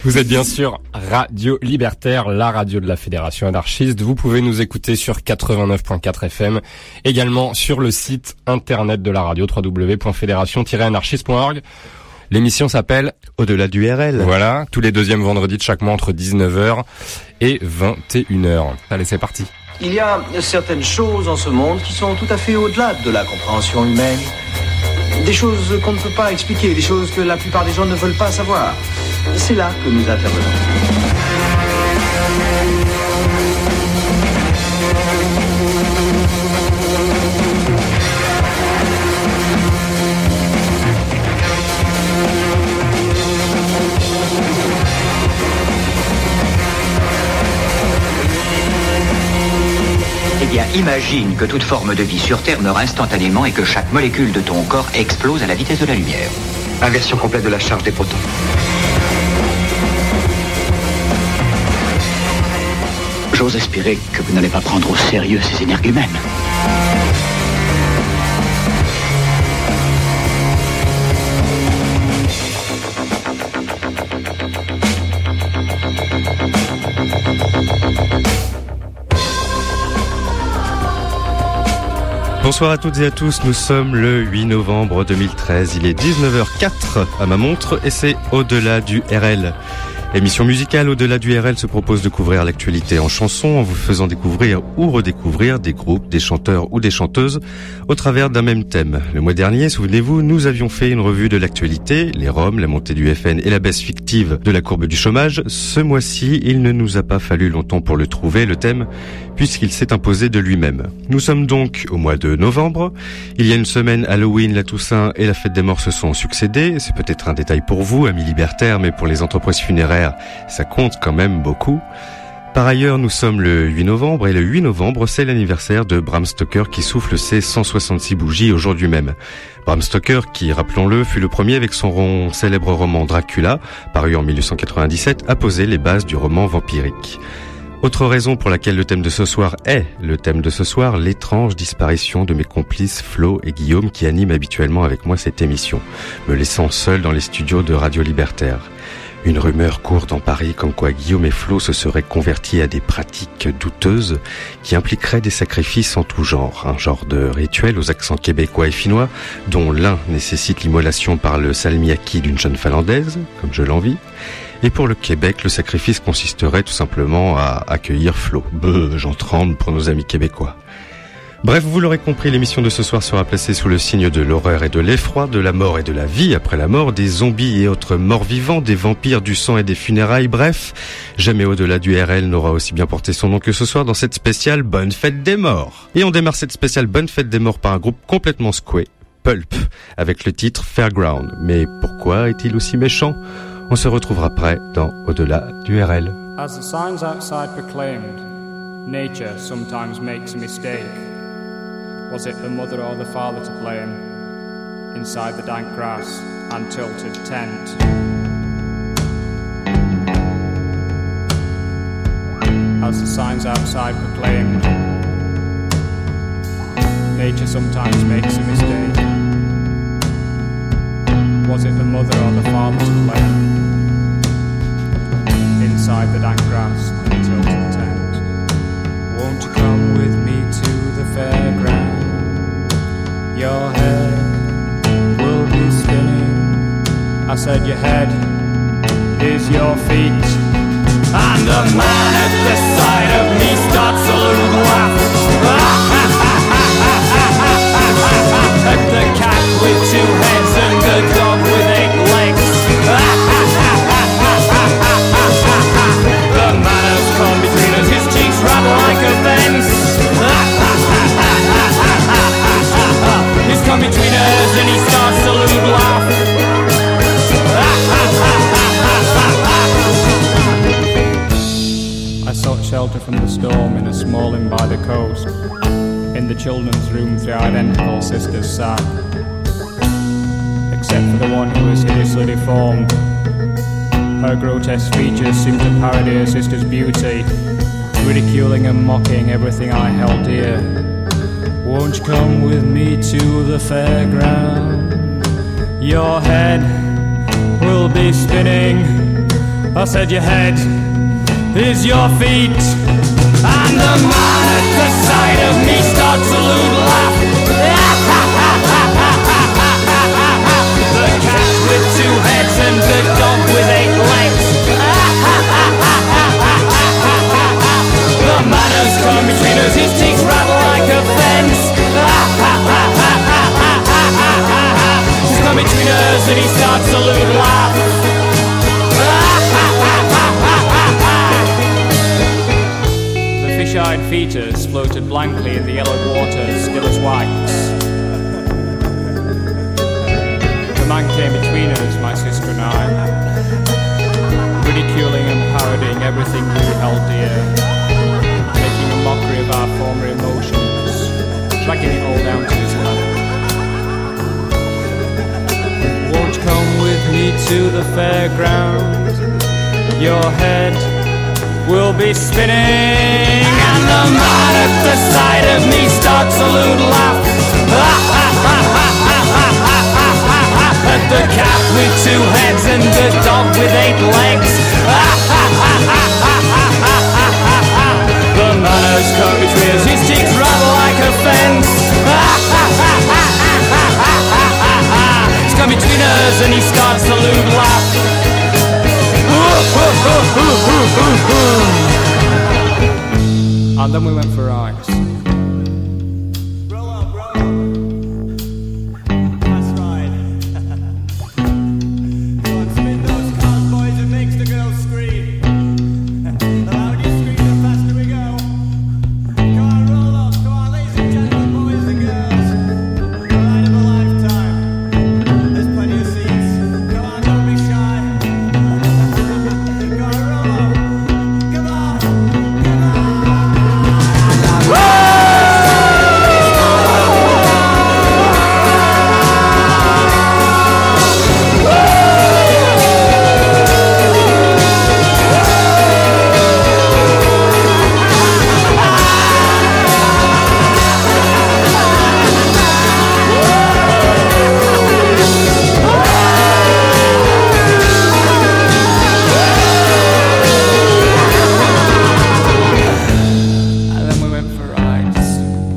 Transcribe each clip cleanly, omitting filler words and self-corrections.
Vous êtes bien sûr Radio Libertaire, la radio de la Fédération anarchiste. Vous pouvez nous écouter sur 89.4 FM, également sur le site internet de la radio, www.fédération-anarchiste.org. L'émission s'appelle Au-delà du RL. Voilà, tous les deuxièmes vendredis de chaque mois entre 19h et 21h. Allez, c'est parti. Il y a certaines choses en ce monde qui sont tout à fait au-delà de la compréhension humaine. Des choses qu'on ne peut pas expliquer, des choses que la plupart des gens ne veulent pas savoir. C'est là que nous intervenons. Eh bien, imagine que toute forme de vie sur Terre meurt instantanément et que chaque molécule de ton corps explose à la vitesse de la lumière. Inversion complète de la charge des protons. J'ose espérer que vous n'allez pas prendre au sérieux ces énergumènes. Bonsoir à toutes et à tous, nous sommes le 8 novembre 2013, il est 19h04 à ma montre et c'est Au-delà du RL. L'émission musicale Au-delà du RL se propose de couvrir l'actualité en chansons en vous faisant découvrir ou redécouvrir des groupes, des chanteurs ou des chanteuses au travers d'un même thème. Le mois dernier, souvenez-vous, nous avions fait une revue de l'actualité, les Roms, la montée du FN et la baisse fictive de la courbe du chômage. Ce mois-ci, il ne nous a pas fallu longtemps pour le trouver, le thème, puisqu'il s'est imposé de lui-même. Nous sommes donc au mois de novembre. Il y a une semaine, Halloween, la Toussaint et la Fête des Morts se sont succédés. C'est peut-être un détail pour vous, amis libertaires, mais pour les entreprises funéraires, ça compte quand même beaucoup. Par ailleurs, nous sommes le 8 novembre et le 8 novembre, c'est l'anniversaire de Bram Stoker qui souffle ses 166 bougies aujourd'hui même. Bram Stoker, qui, rappelons-le, fut le premier avec son célèbre roman Dracula, paru en 1897, à poser les bases du roman vampirique. Autre raison pour laquelle le thème de ce soir est le thème de ce soir, l'étrange disparition de mes complices Flo et Guillaume qui animent habituellement avec moi cette émission, me laissant seul dans les studios de Radio Libertaire. Une rumeur court dans Paris comme quoi Guillaume et Flo se seraient convertis à des pratiques douteuses qui impliqueraient des sacrifices en tout genre. Un genre de rituel aux accents québécois et finnois dont l'un nécessite l'immolation par le salmiakki d'une jeune finlandaise, comme je l'envie. Et pour le Québec, le sacrifice consisterait tout simplement à accueillir Flo. J'en tremble pour nos amis québécois. Bref, vous l'aurez compris, l'émission de ce soir sera placée sous le signe de l'horreur et de l'effroi, de la mort et de la vie après la mort, des zombies et autres morts vivants, des vampires, du sang et des funérailles, bref, jamais Au-delà du RL n'aura aussi bien porté son nom que ce soir dans cette spéciale Bonne Fête des Morts. Et on démarre cette spéciale Bonne Fête des Morts par un groupe complètement secoué, Pulp, avec le titre Fairground. Mais pourquoi est-il aussi méchant ? On se retrouvera après dans Au-delà du RL. As the signs outside proclaimed, nature sometimes makes a mistake. Was it the mother or the father to blame? Inside the dank grass and tilted tent. As the signs outside proclaimed, nature sometimes makes a mistake. Was it the mother or the father to blame? Inside the dank grass and tilted tent. Won't you come with me to the fairground? Your head will be spinning. I said your head is your feet. And the man at the side of me starts a little laugh. At the cat with two heads and the dog with 8 legs. The man has come between us, his cheeks rattle like a fence. He's come between us and he starts to lose laugh. I sought shelter from the storm in a small inn by the coast. In the children's room 3 identical sisters sat, except for the one who was hideously deformed. Her grotesque features seemed to parody her sister's beauty, ridiculing and mocking everything I held dear. Won't you come with me to the fairground? Your head will be spinning. I said your head is your feet. And the man at the side of me starts a lewd laugh. The cat with 2 heads and the dog with 8 legs. The manners come between us, his teeth rattle like a fence. He's come between us and he starts a lewd laugh. Fish-eyed fetus floated blankly in the yellow waters, still as wax. The man came between us, my sister and I, ridiculing and parodying everything we held dear, making a mockery of our former emotions, dragging it all down to his lap. Won't you come with me to the fairground? Your head will be spinning, and the man at the side of me starts a lewd laugh. At the cat with 2 heads and the dog with 8 legs. The manners come between us, his teeth rattle like a fence. He's come between us and he starts a lewd laugh. And then we went for rides. Roll up, roll up. That's right. Go on, spin those cars, boys, it makes the girls scream. The louder you scream, the faster we go. Come on, roll up, come on, ladies and gentlemen, boys and girls. The ride of a lifetime. There's plenty of seats. Come on, don't be shy. Come on, roll up. Come on, come on. And then we went for rides.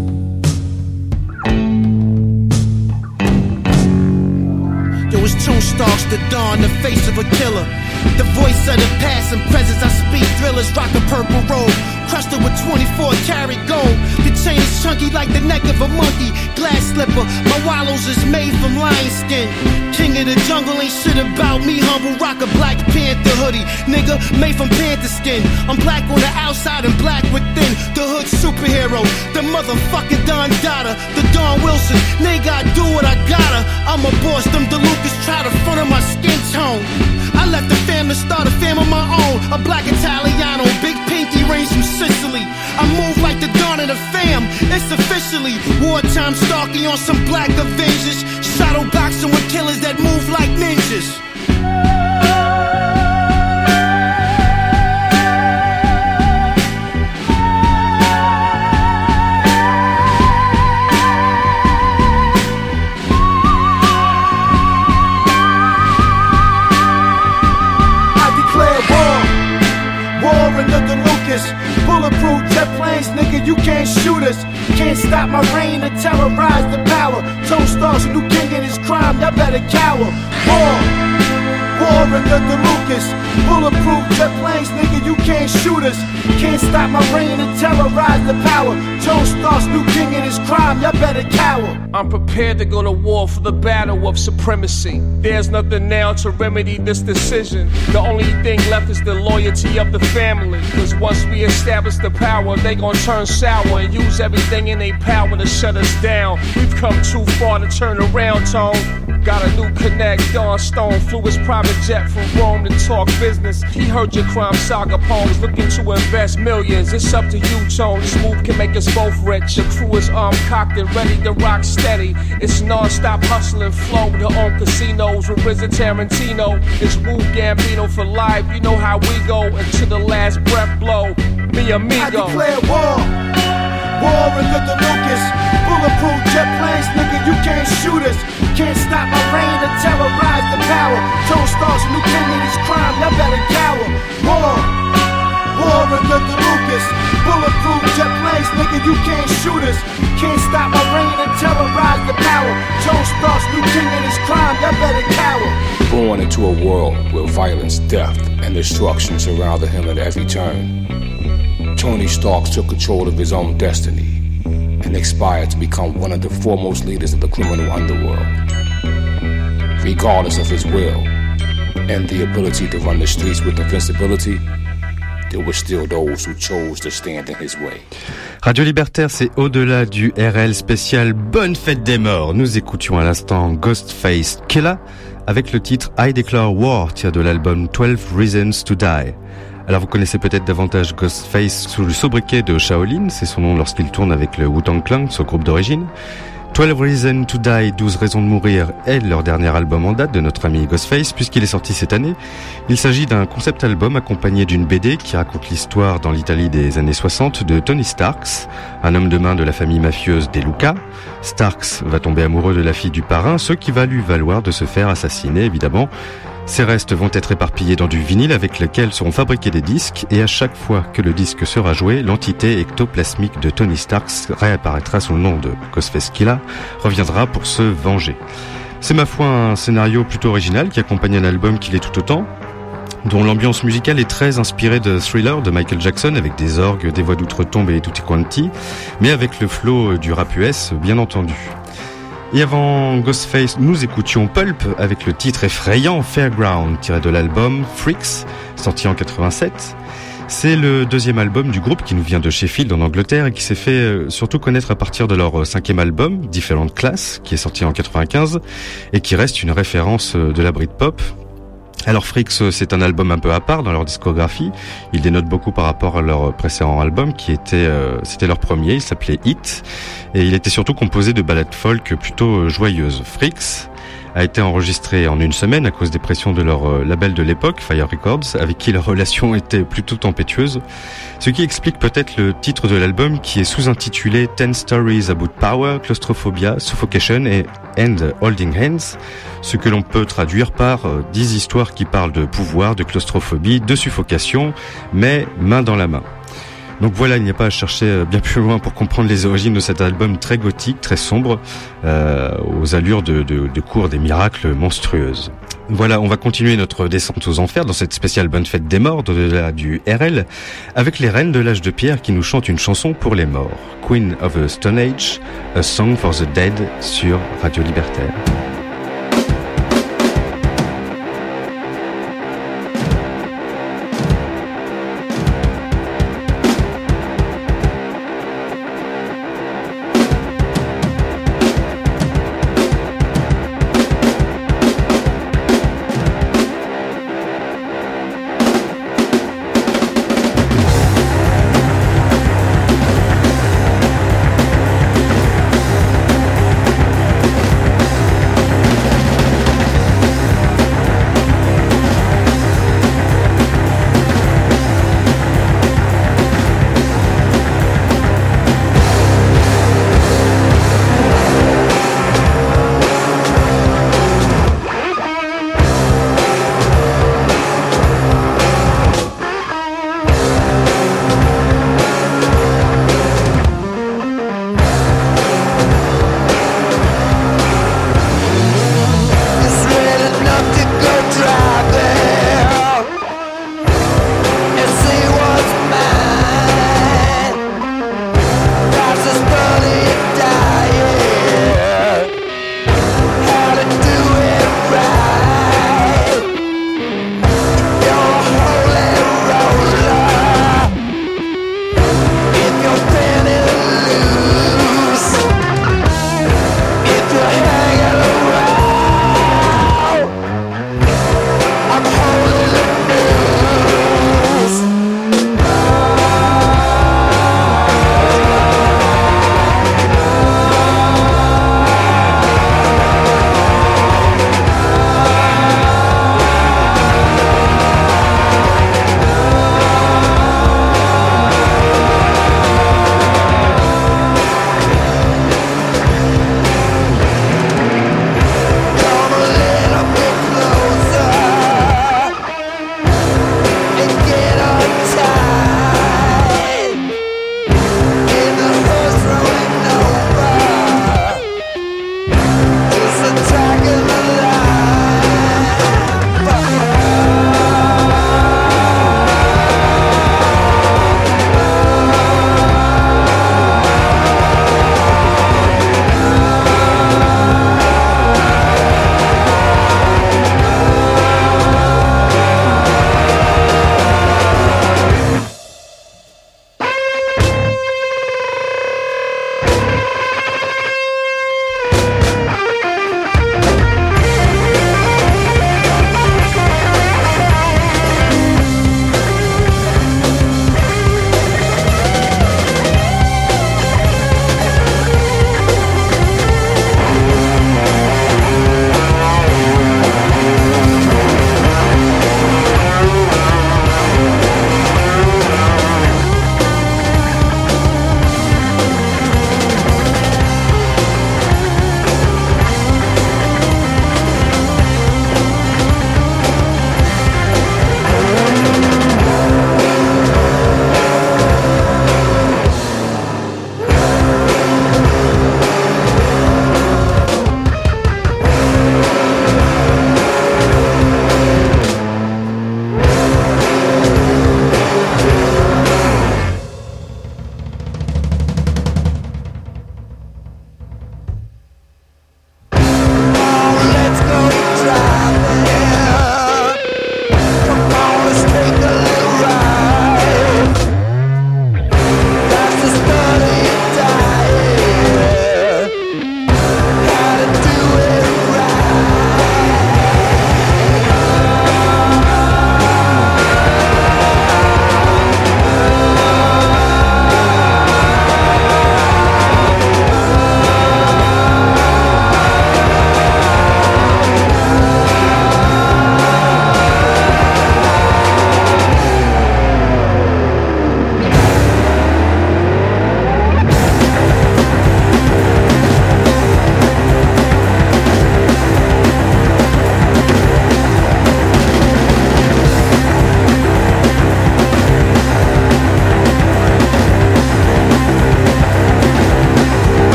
Yo, it's Tone Starks, the dawn, the face of a killer. The voice of the past and presence, I speak thrillers, rock a purple robe. Crusted with 24 karat gold. The chain is chunky like the neck of a monkey. Glass slipper, my wallows is made from lion skin. King of the jungle ain't shit about me, humble. Rock a Black Panther hoodie, nigga, made from panther skin. I'm black on the outside and black within. The hood superhero, the motherfucking Don Dada, the Don Wilson. Nigga, I do what I gotta. I'm a boss, them DeLucas try to front of my skin tone. I left the fam to start a fam of my own. A black Italiano, big pinky rings from Sicily. I move like the dawn of the fam. It's officially wartime stalking on some black Avengers. Shadow boxing with killers that move like ninjas. Bulletproof jet planes, nigga, you can't shoot us. Can't stop my reign to terrorize the power. Tone Starks, a new king in his crime, y'all better cower. War in the Lucas. Bulletproof jet planes, nigga, you can't shoot us. Can't stop my reign to terrorize the power. Tone Starks, new king in his crime, y'all better cower. I'm prepared to go to war for the battle of supremacy. There's nothing now to remedy this decision. The only thing left is the loyalty of the family. Cause once we establish the power, they gon' turn sour and use everything in their power to shut us down. We've come too far to turn around, Tone. Got a new connect, Don Stone flew his private jet from Rome to talk business. He heard your crime saga poems, looking to invest millions. It's up to you, Tone. This move can make us both rich. The crew is armed, cocked, and ready to rock steady. It's non-stop hustling flow to own casinos with Rizzo Tarantino. It's Wu Gambino for life. You know how we go until the last breath blow. Mi amigo. I declare war. War in the Lucas. Bulletproof jet planes, nigga, you can't shoot us. Can't stop my reign or terrorize the power. Tone stars, new king in this crime, y'all better cower. War of the Lucas. Bulletproof jet planes, nigga, you can't shoot us. Can't stop my reign and terrorize the power. Tone stars, new king in this crime, y'all better cower. Born into a world where violence, death, and destruction surrounded him at every turn, Tony Stark took control of his own destiny and aspired to become one of the foremost leaders of the criminal underworld. Regardless of his will and the ability to run the streets with invincibility, there were still those who chose to stand in his way. Radio Libertaire, c'est au-delà du RL spécial Bonne Fête des Morts. Nous écoutions à l'instant Ghostface Killah avec le titre I Declare War, tiré de l'album 12 Reasons to Die. Alors vous connaissez peut-être davantage Ghostface sous le sobriquet de Shaolin, c'est son nom lorsqu'il tourne avec le Wu-Tang Clan, son groupe d'origine. 12 Reasons to Die, 12 raisons de mourir, est leur dernier album en date de notre ami Ghostface, puisqu'il est sorti cette année. Il s'agit d'un concept album accompagné d'une BD qui raconte l'histoire dans l'Italie des années 60 de Tony Starks, un homme de main de la famille mafieuse des Luca. Starks va tomber amoureux de la fille du parrain, ce qui va lui valoir de se faire assassiner, évidemment. Ces restes vont être éparpillés dans du vinyle avec lequel seront fabriqués des disques, et à chaque fois que le disque sera joué, l'entité ectoplasmique de Tony Starks réapparaîtra sous le nom de Ghostface Killah, reviendra pour se venger. C'est ma foi un scénario plutôt original qui accompagne un album qui l'est tout autant, dont l'ambiance musicale est très inspirée de Thriller de Michael Jackson, avec des orgues, des voix d'outre-tombe et tutti quanti, mais avec le flow du rap US, bien entendu. Et avant Ghostface, nous écoutions Pulp avec le titre effrayant Fairground, tiré de l'album Freaks, sorti en 87. C'est le deuxième album du groupe qui nous vient de Sheffield en Angleterre et qui s'est fait surtout connaître à partir de leur cinquième album, Different Class, qui est sorti en 95 et qui reste une référence de la Britpop. Alors Freaks, c'est un album un peu à part dans leur discographie. Ils dénotent beaucoup par rapport à leur précédent album qui était, c'était leur premier, il s'appelait Hit. Et il était surtout composé de ballades folk plutôt joyeuses. Freaks a été enregistré en une semaine à cause des pressions de leur label de l'époque, Fire Records, avec qui leur relation était plutôt tempétueuse. Ce qui explique peut-être le titre de l'album qui est sous-intitulé 10 Stories About Power, Claustrophobia, Suffocation and Holding Hands, ce que l'on peut traduire par 10 histoires qui parlent de pouvoir, de claustrophobie, de suffocation, mais main dans la main. Donc voilà, il n'y a pas à chercher bien plus loin pour comprendre les origines de cet album très gothique, très sombre, aux allures de cours des miracles monstrueuses. Voilà, on va continuer notre descente aux enfers dans cette spéciale Bonne Fête des Morts au-delà du RL, avec les Reines de l'Âge de Pierre qui nous chantent une chanson pour les morts. Queen of the Stone Age, A Song for the Dead sur Radio Libertaire.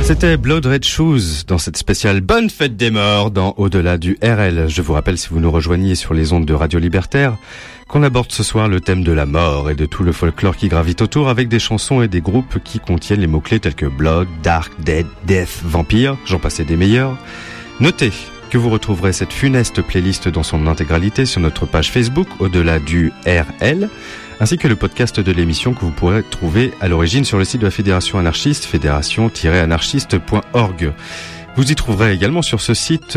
C'était Blood Red Shoes dans cette spéciale Bonne Fête des Morts dans Au-delà du RL. Je vous rappelle, si vous nous rejoignez sur les ondes de Radio Libertaire, qu'on aborde ce soir le thème de la mort et de tout le folklore qui gravite autour, avec des chansons et des groupes qui contiennent les mots-clés tels que Blood, Dark, Dead, Death, Vampire, j'en passais des meilleurs. Notez que vous retrouverez cette funeste playlist dans son intégralité sur notre page Facebook Au-delà du RL, ainsi que le podcast de l'émission que vous pourrez trouver à l'origine sur le site de la Fédération Anarchiste, fédération-anarchiste.org. Vous y trouverez également sur ce site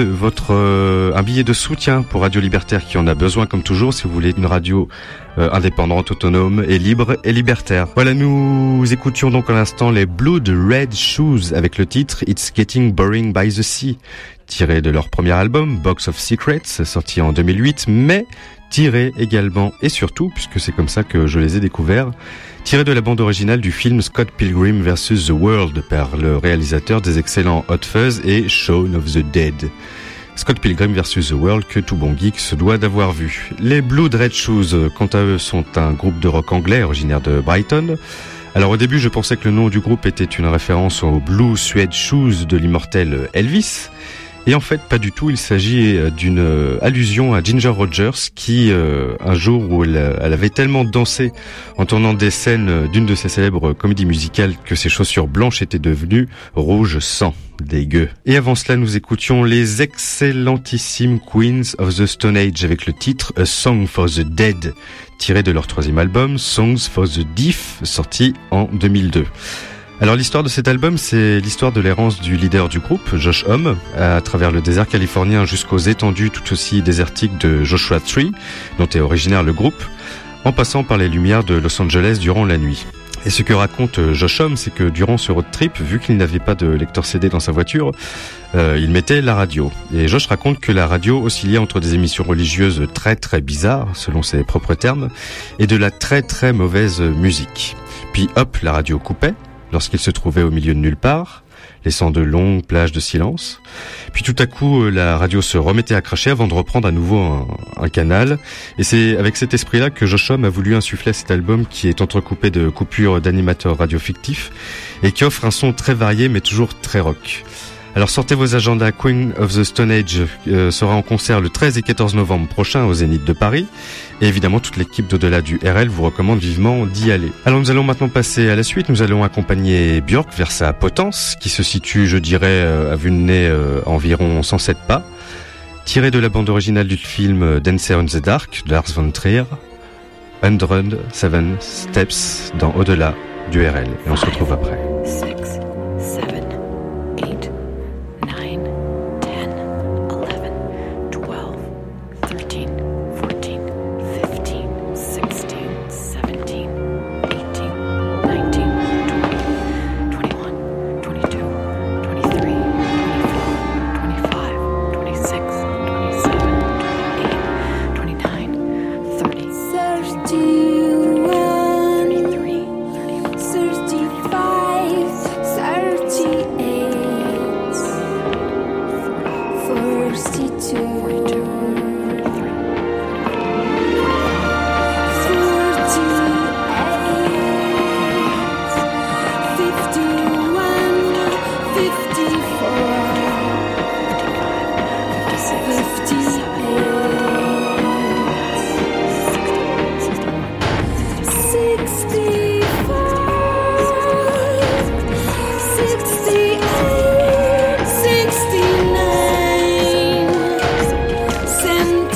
un billet de soutien pour Radio Libertaire qui en a besoin comme toujours si vous voulez une radio indépendante, autonome et libre et libertaire. Voilà, nous écoutions donc à l'instant les Blood Red Shoes avec le titre It's Getting Boring by the Sea, tiré de leur premier album Box of Secrets, sorti en 2008, mais tiré également et surtout, puisque c'est comme ça que je les ai découverts, tiré de la bande originale du film Scott Pilgrim vs. The World par le réalisateur des excellents Hot Fuzz et Shaun of the Dead. Scott Pilgrim vs. The World que tout bon geek se doit d'avoir vu. Les Blood Red Shoes, quant à eux, sont un groupe de rock anglais originaire de Brighton. Alors au début, je pensais que le nom du groupe était une référence aux Blue Suede Shoes de l'immortel Elvis. Et en fait, pas du tout. Il s'agit d'une allusion à Ginger Rogers qui, un jour où elle avait tellement dansé en tournant des scènes d'une de ses célèbres comédies musicales que ses chaussures blanches étaient devenues rouge sang. Dégueu. Et avant cela, nous écoutions les excellentissimes Queens of the Stone Age avec le titre A Song for the Dead, tiré de leur troisième album Songs for the Deaf, sorti en 2002. Alors l'histoire de cet album, c'est l'histoire de l'errance du leader du groupe, Josh Homme, à travers le désert californien jusqu'aux étendues tout aussi désertiques de Joshua Tree, dont est originaire le groupe, en passant par les lumières de Los Angeles durant la nuit. Et ce que raconte Josh Homme, c'est que durant ce road trip, vu qu'il n'avait pas de lecteur CD dans sa voiture, il mettait la radio. Et Josh raconte que la radio oscillait entre des émissions religieuses très très bizarres, selon ses propres termes, et de la très très mauvaise musique. Puis hop, la radio coupait lorsqu'il se trouvait au milieu de nulle part, laissant de longues plages de silence. Puis tout à coup, la radio se remettait à cracher avant de reprendre à nouveau un canal. Et c'est avec cet esprit-là que Josh Homme a voulu insuffler cet album qui est entrecoupé de coupures d'animateurs radio fictifs et qui offre un son très varié mais toujours très rock. Alors sortez vos agendas, Queen of the Stone Age sera en concert le 13 et 14 novembre prochain au Zénith de Paris. Et évidemment, toute l'équipe d'Au-delà du RL vous recommande vivement d'y aller. Alors nous allons maintenant passer à la suite. Nous allons accompagner Björk vers sa potence, qui se situe, je dirais, à vue de nez environ 107 pas. Tiré de la bande originale du film Dancer in the Dark de Lars von Trier, 107 Steps dans Au-delà du RL. Et on se retrouve après. 6, 7, 8, 9, 10, 11, 12, 13, 14, 15, 16, 17, 18, 19, 20, 21, 22, 23, 24, 25, 26, 27, 28, 29, 30, 69, 70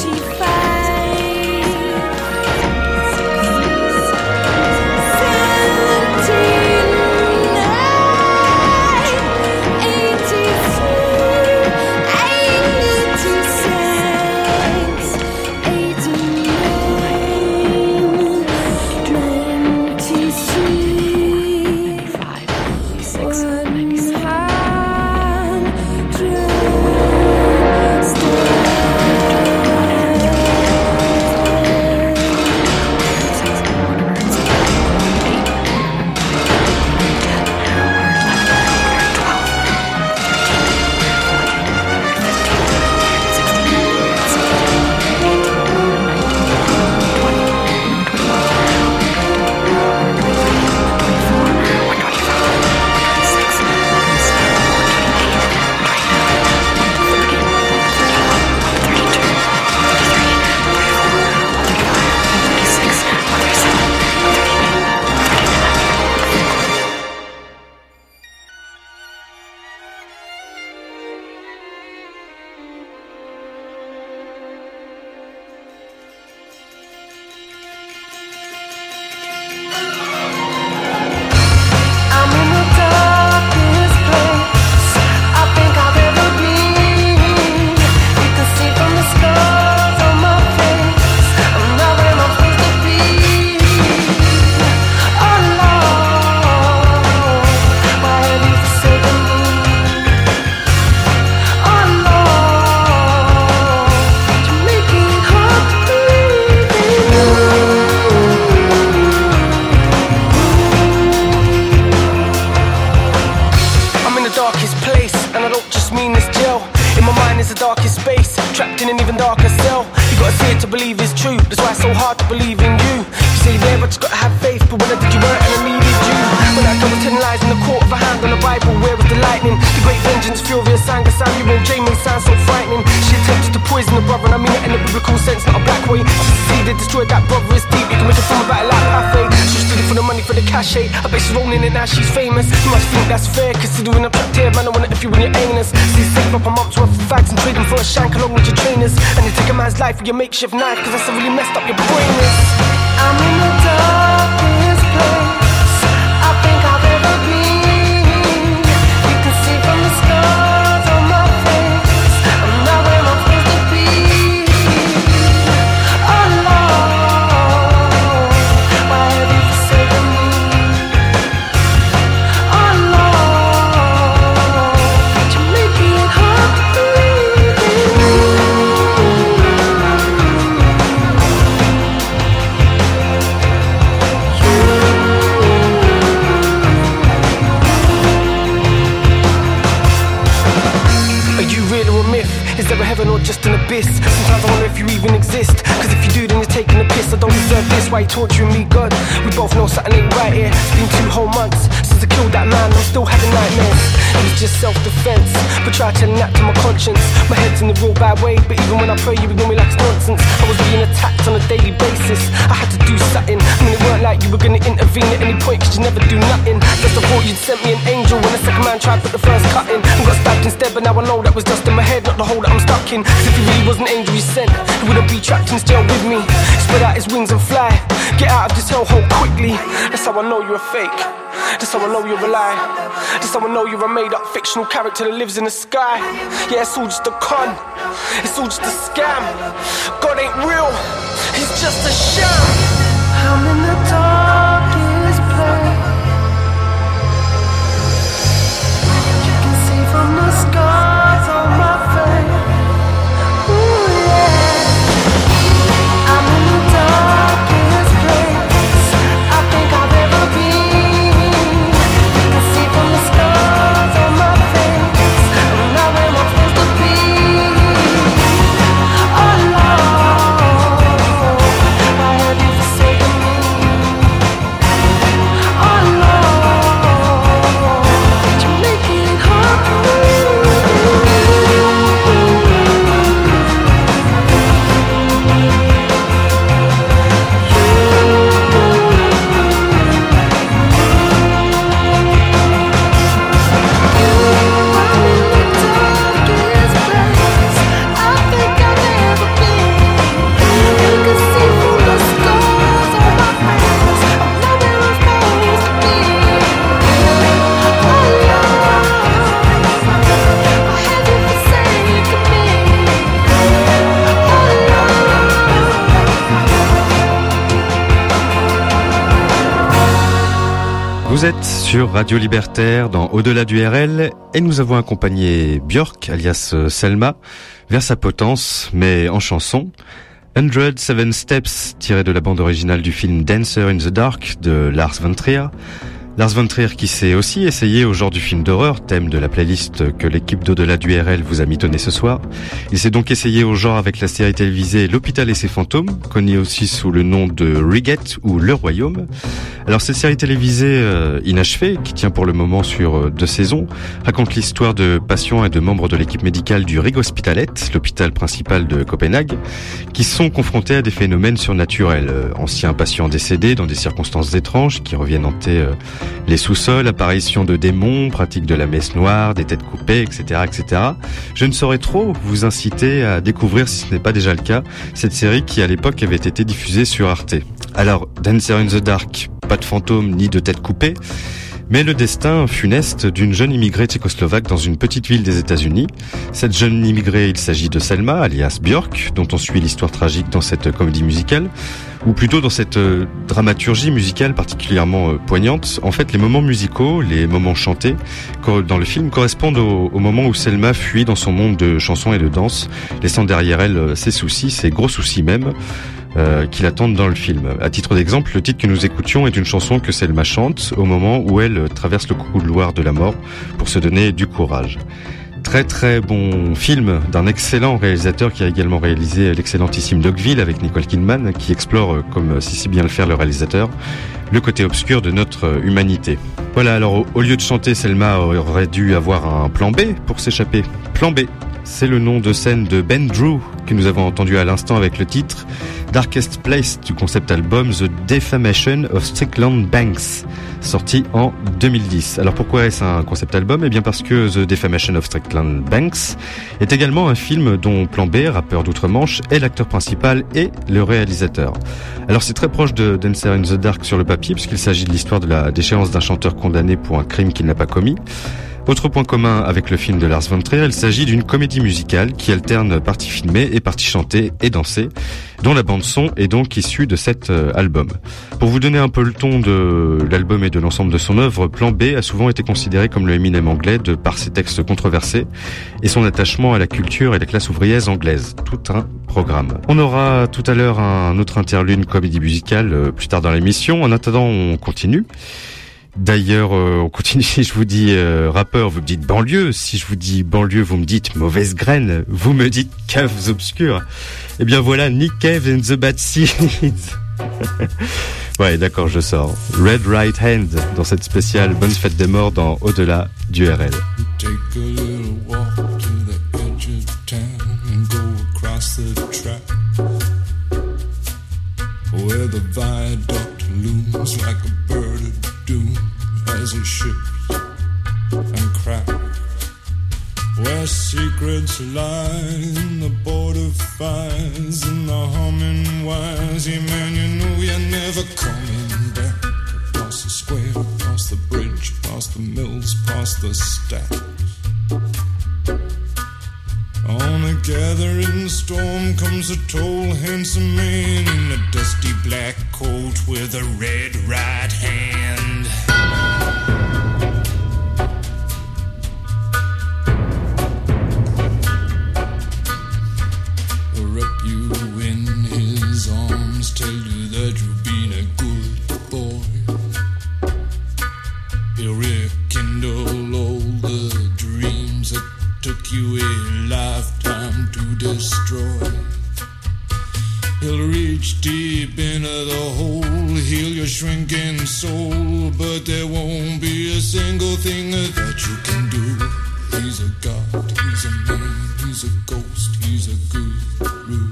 mind is the darkest space, trapped in an even darker cell. You gotta see it to believe it's true, that's why it's so hard to believe in you. You say there, but you gotta have faith, but when I did you weren't and I needed you. When I go with 10 lies in the court of a hand on the Bible, where was the lightning? The great vengeance, furious anger, Samuel Jamin sounds so frightening. She attempted to poison the brother, and I mean it in a biblical sense, not a black way. She succeeded, destroyed that brother, it's deep. You can make a film about it like Buffet. She stood it for the money, for the cachet. I bet she's rolling it now, she's famous. You must think that's fair, considering I'm trapped here, man, I want it if you win your anus. See, save up a month's worth of fags and trade them for a shank along with your trainers. And you take a man's life with your makeshift knife, cause that's how really messed up your brain is. I'm in the darkest place I think I've ever been. You can see from the scars on my face I'm not where I'm supposed to be. Oh Lord, why have you forsaken me? Oh Lord, you're making it hard to breathe. Are you real or a myth? Is there a heaven or just an abyss? Sometimes I wonder if you even exist. Cause if you do, then you're taking a piss. I don't deserve this, why you torturing me, God? We both know something ain't right here. It's been 2 whole months since I killed that man, I'm still having nightmares. It was just self-defense, but try telling that to my conscience. My head's in the real bad way, but even when I pray you ignore me like it's nonsense. I was being attacked on a daily basis, I had to do something. I mean it weren't like you were gonna intervene at any point, cause you never do nothing. Just I thought you'd sent me an angel when the second man tried to put the first cut in and got stabbed instead, but now I know that was just in my head, not the hole that I'm stuck in. Cause if he really was an angel you sent, he wouldn't be trapped in this jail with me. Spread out his wings and fly, get out of this hellhole quickly. That's how I know you're a fake, that's how I know you're a lie. That's how I know you're a made up fictional character that lives in the sky. Yeah, it's all just a con, it's all just a scam. God ain't real, he's just a sham. I'm in the darkest place. You can see from the scars on my face. Ooh, yeah. I'm in the darkest place I think I've ever been. You can see from the scars on my face I'm not where I'm supposed to be. Oh Lord, why have you forsaken me? Oh Lord, you're making it hard for me. Vous êtes sur Radio Libertaire dans Au-delà du RL et nous avons accompagné Björk, alias Selma, vers sa potence, mais en chanson. 107 Steps, tiré de la bande originale du film Dancer in the Dark de Lars von Trier. Lars von Trier qui s'est aussi essayé au genre du film d'horreur, thème de la playlist que l'équipe d'Au-delà du RL vous a mitonné ce soir. Il s'est donc essayé au genre avec la série télévisée L'Hôpital et ses fantômes, connue aussi sous le nom de Riget ou Le Royaume. Alors cette série télévisée inachevée, qui tient pour le moment sur 2 saisons, raconte l'histoire de patients et de membres de l'équipe médicale du Rigshospitalet, l'hôpital principal de Copenhague, qui sont confrontés à des phénomènes surnaturels. Anciens patients décédés dans des circonstances étranges qui reviennent hanter les sous-sols, apparition de démons, pratique de la messe noire, des têtes coupées, etc., etc. Je ne saurais trop vous inciter à découvrir, si ce n'est pas déjà le cas, cette série qui à l'époque avait été diffusée sur Arte. Alors, Dancer in the Dark, pas de fantômes ni de têtes coupées, mais le destin funeste d'une jeune immigrée tchécoslovaque dans une petite ville des États-Unis. Cette jeune immigrée, il s'agit de Selma, alias Björk, dont on suit l'histoire tragique dans cette comédie musicale, ou plutôt dans cette dramaturgie musicale particulièrement poignante. En fait, les moments musicaux, les moments chantés dans le film correspondent au moment où Selma fuit dans son monde de chansons et de danse, laissant derrière elle ses soucis, ses gros soucis même, qui l'attendent dans le film. À titre d'exemple, le titre que nous écoutions est une chanson que Selma chante au moment où elle traverse le couloir de la mort pour se donner du courage. Très très bon film d'un excellent réalisateur qui a également réalisé l'excellentissime Dogville avec Nicole Kidman, qui explore, comme si bien le faire le réalisateur, le côté obscur de notre humanité. Voilà, alors au lieu de chanter, Selma aurait dû avoir un plan B pour s'échapper. Plan B, c'est le nom de scène de Ben Drew que nous avons entendu à l'instant avec le titre Darkest Place du concept album The Defamation of Strickland Banks, sorti en 2010. Alors pourquoi est-ce un concept album ? Eh bien parce que The Defamation of Strickland Banks est également un film dont Plan B, rappeur d'outre-Manche, est l'acteur principal et le réalisateur. Alors c'est très proche de Dancer in the Dark sur le papier, puisqu'il s'agit de l'histoire de la déchéance d'un chanteur condamné pour un crime qu'il n'a pas commis. Autre point commun avec le film de Lars von Trier, il s'agit d'une comédie musicale qui alterne parties filmées et parties chantées et dansées, dont la bande-son est donc issue de cet album. Pour vous donner un peu le ton de l'album et de l'ensemble de son œuvre, Plan B a souvent été considéré comme le Eminem anglais de par ses textes controversés et son attachement à la culture et la classe ouvrière anglaise. Tout un programme. On aura tout à l'heure un autre interlude comédie musicale plus tard dans l'émission. En attendant, on continue. D'ailleurs, on continue. Si je vous dis rappeur, vous me dites banlieue. Si je vous dis banlieue, vous me dites mauvaise graine. Vous me dites caves obscures. Eh bien voilà, Nick Cave and the Bad Seeds. Ouais, d'accord, je sors. Red Right Hand dans cette spéciale Bonne Fête des Morts dans Au-delà du RL. Take a little walk to the edge of town and go across the track where the viaduct looms like a bird of doom as it shifts and cracks, where secrets lie in the border fires and the humming wires. Yeah, man, you know you're never coming back. Across the square, across the bridge, past the mills, past the stacks. On a gathering storm comes a tall, handsome man in a dusty black coat with a red right hand. Wrap you in his arms, tell you that you've been a good boy. He'll rekindle all the dreams that took you a lifetime to destroy. He'll reach deep into the hole, heal your shrinking soul, but there won't be a single thing that you can do. He's a god, he's a man, he's a ghost, he's a guru.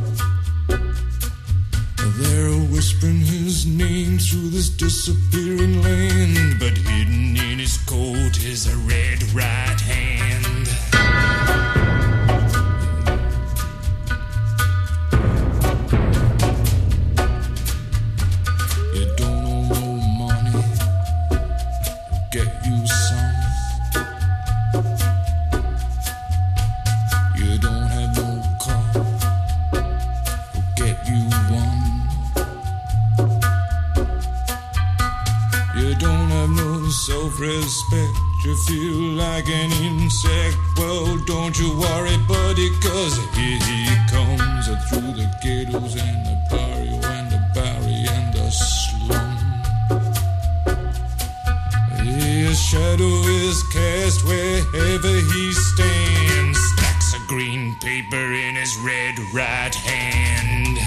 They're whispering his name through this disappearing land, but hidden in his coat is a red right hand. You don't owe no money, get you some. You don't have no car, get you one. You don't have no self-respect, you feel like an insect. Well, don't you worry, buddy, cause here he comes through the ghettos and the barrio and the barry and the slum. His shadow is cast wherever he stands, stacks of green paper in his red right hand.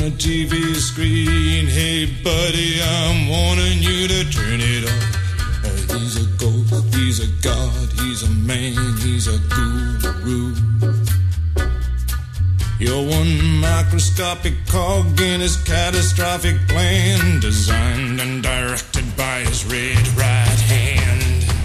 the TV screen. Hey buddy, I'm warning you to turn it off. He's a ghost, he's a god, he's a man, he's a guru. You're one microscopic cog in his catastrophic plan, designed and directed by his red right hand.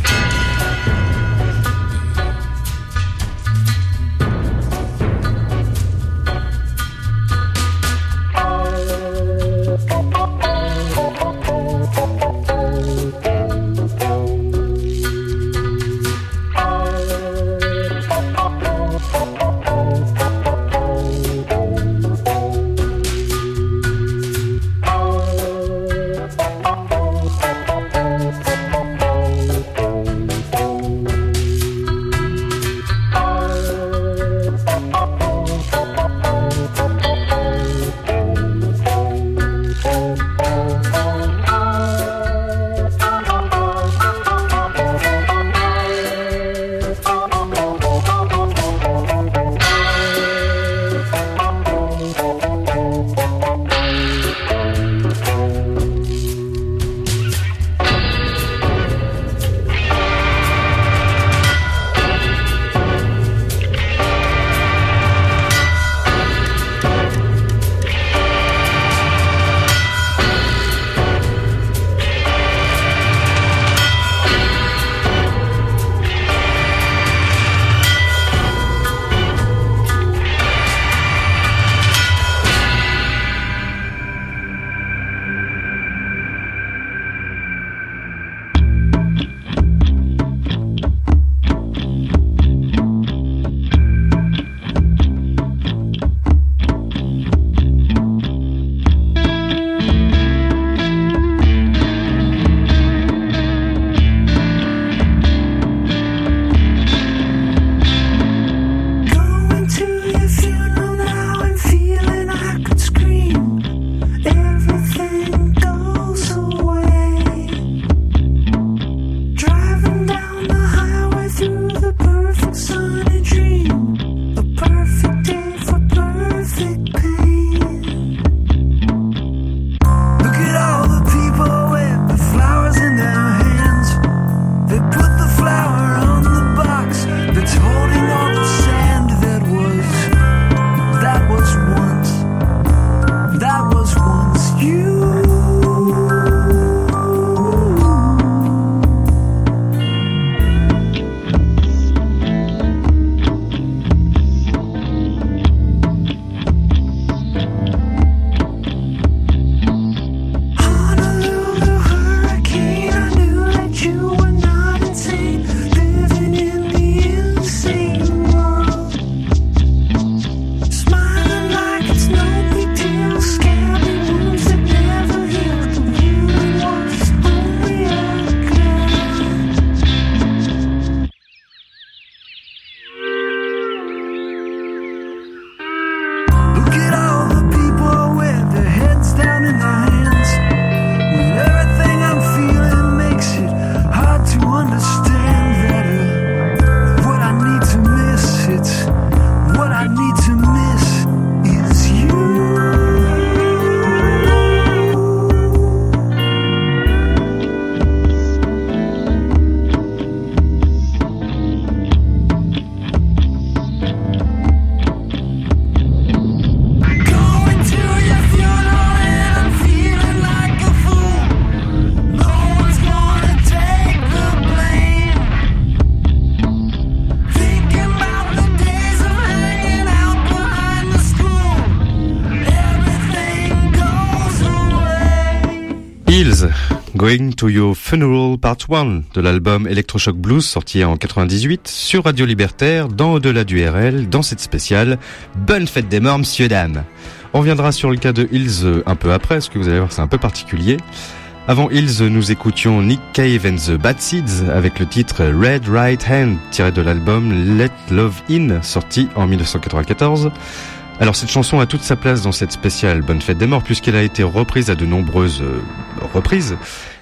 Going to Your Funeral Part 1 de l'album Electroshock Blues sorti en 98 sur Radio Libertaire dans Au-delà du RL dans cette spéciale Bonne fête des morts messieurs dames. On reviendra sur le cas de Hills un peu après parce que vous allez voir c'est un peu particulier. Avant Hills, nous écoutions Nick Cave and the Bad Seeds avec le titre Red Right Hand tiré de l'album Let Love In sorti en 1994. Alors cette chanson a toute sa place dans cette spéciale Bonne Fête des Morts puisqu'elle a été reprise à de nombreuses reprises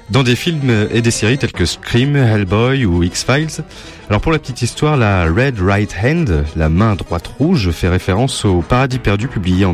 dans des films et des séries tels que Scream, Hellboy ou X-Files. Alors pour la petite histoire, la Red Right Hand, la main droite rouge, fait référence au Paradis perdu publié en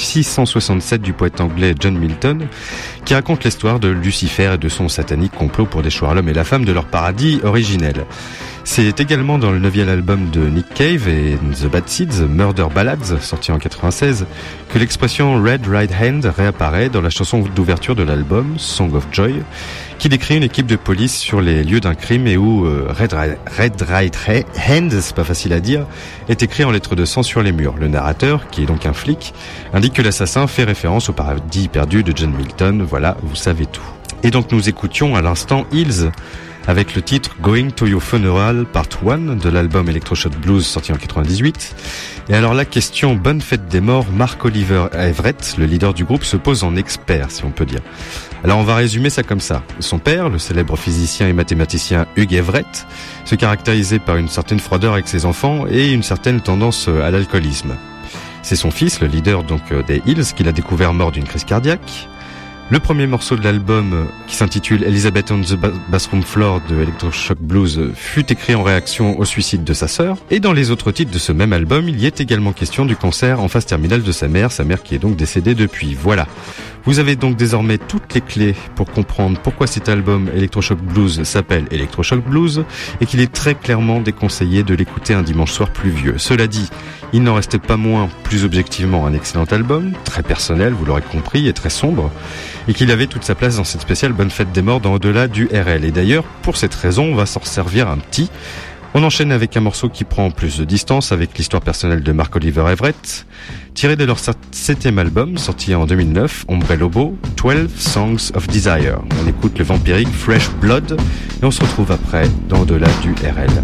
1667 du poète anglais John Milton, qui raconte l'histoire de Lucifer et de son satanique complot pour déchoir l'homme et la femme de leur paradis originel. C'est également dans le 9e album de Nick Cave et The Bad Seeds, Murder Ballads, sorti en 96, que l'expression Red Right Hand réapparaît dans la chanson d'ouverture de l'album, Song of Joy, qui décrit une équipe de police sur les lieux d'un crime et où Red Right Hand, c'est pas facile à dire, est écrit en lettres de sang sur les murs. Le narrateur, qui est donc un flic, indique que l'assassin fait référence au paradis perdu de John Milton. Voilà, vous savez tout. Et donc nous écoutions à l'instant Hills, avec le titre Going to Your Funeral Part 1 de l'album Electroshock Blues sorti en 98. Et alors la question bonne fête des morts, Mark Oliver Everett, le leader du groupe, se pose en expert, si on peut dire. Alors on va résumer ça comme ça. Son père, le célèbre physicien et mathématicien Hugh Everett, se caractérisait par une certaine froideur avec ses enfants et une certaine tendance à l'alcoolisme. C'est son fils, le leader donc des Hills, qu'il a découvert mort d'une crise cardiaque. Le premier morceau de l'album, qui s'intitule Elizabeth on the Bathroom Floor de Electroshock Blues, fut écrit en réaction au suicide de sa sœur. Et dans les autres titres de ce même album, il y est également question du cancer en phase terminale de sa mère qui est donc décédée depuis. Voilà. Vous avez donc désormais toutes les clés pour comprendre pourquoi cet album Electroshock Blues s'appelle Electroshock Blues et qu'il est très clairement déconseillé de l'écouter un dimanche soir pluvieux. Cela dit, il n'en restait pas moins, plus objectivement, un excellent album, très personnel, vous l'aurez compris, et très sombre, et qu'il avait toute sa place dans cette spéciale Bonne Fête des Morts dans Au-delà du RL. Et d'ailleurs, pour cette raison, on va s'en servir un petit. On enchaîne avec un morceau qui prend plus de distance avec l'histoire personnelle de Mark Oliver Everett, tiré de leur 7e album, sorti en 2009, Ombre Lobo, 12 Songs of Desire. On écoute le vampirique Fresh Blood, et on se retrouve après dans Au-delà du RL.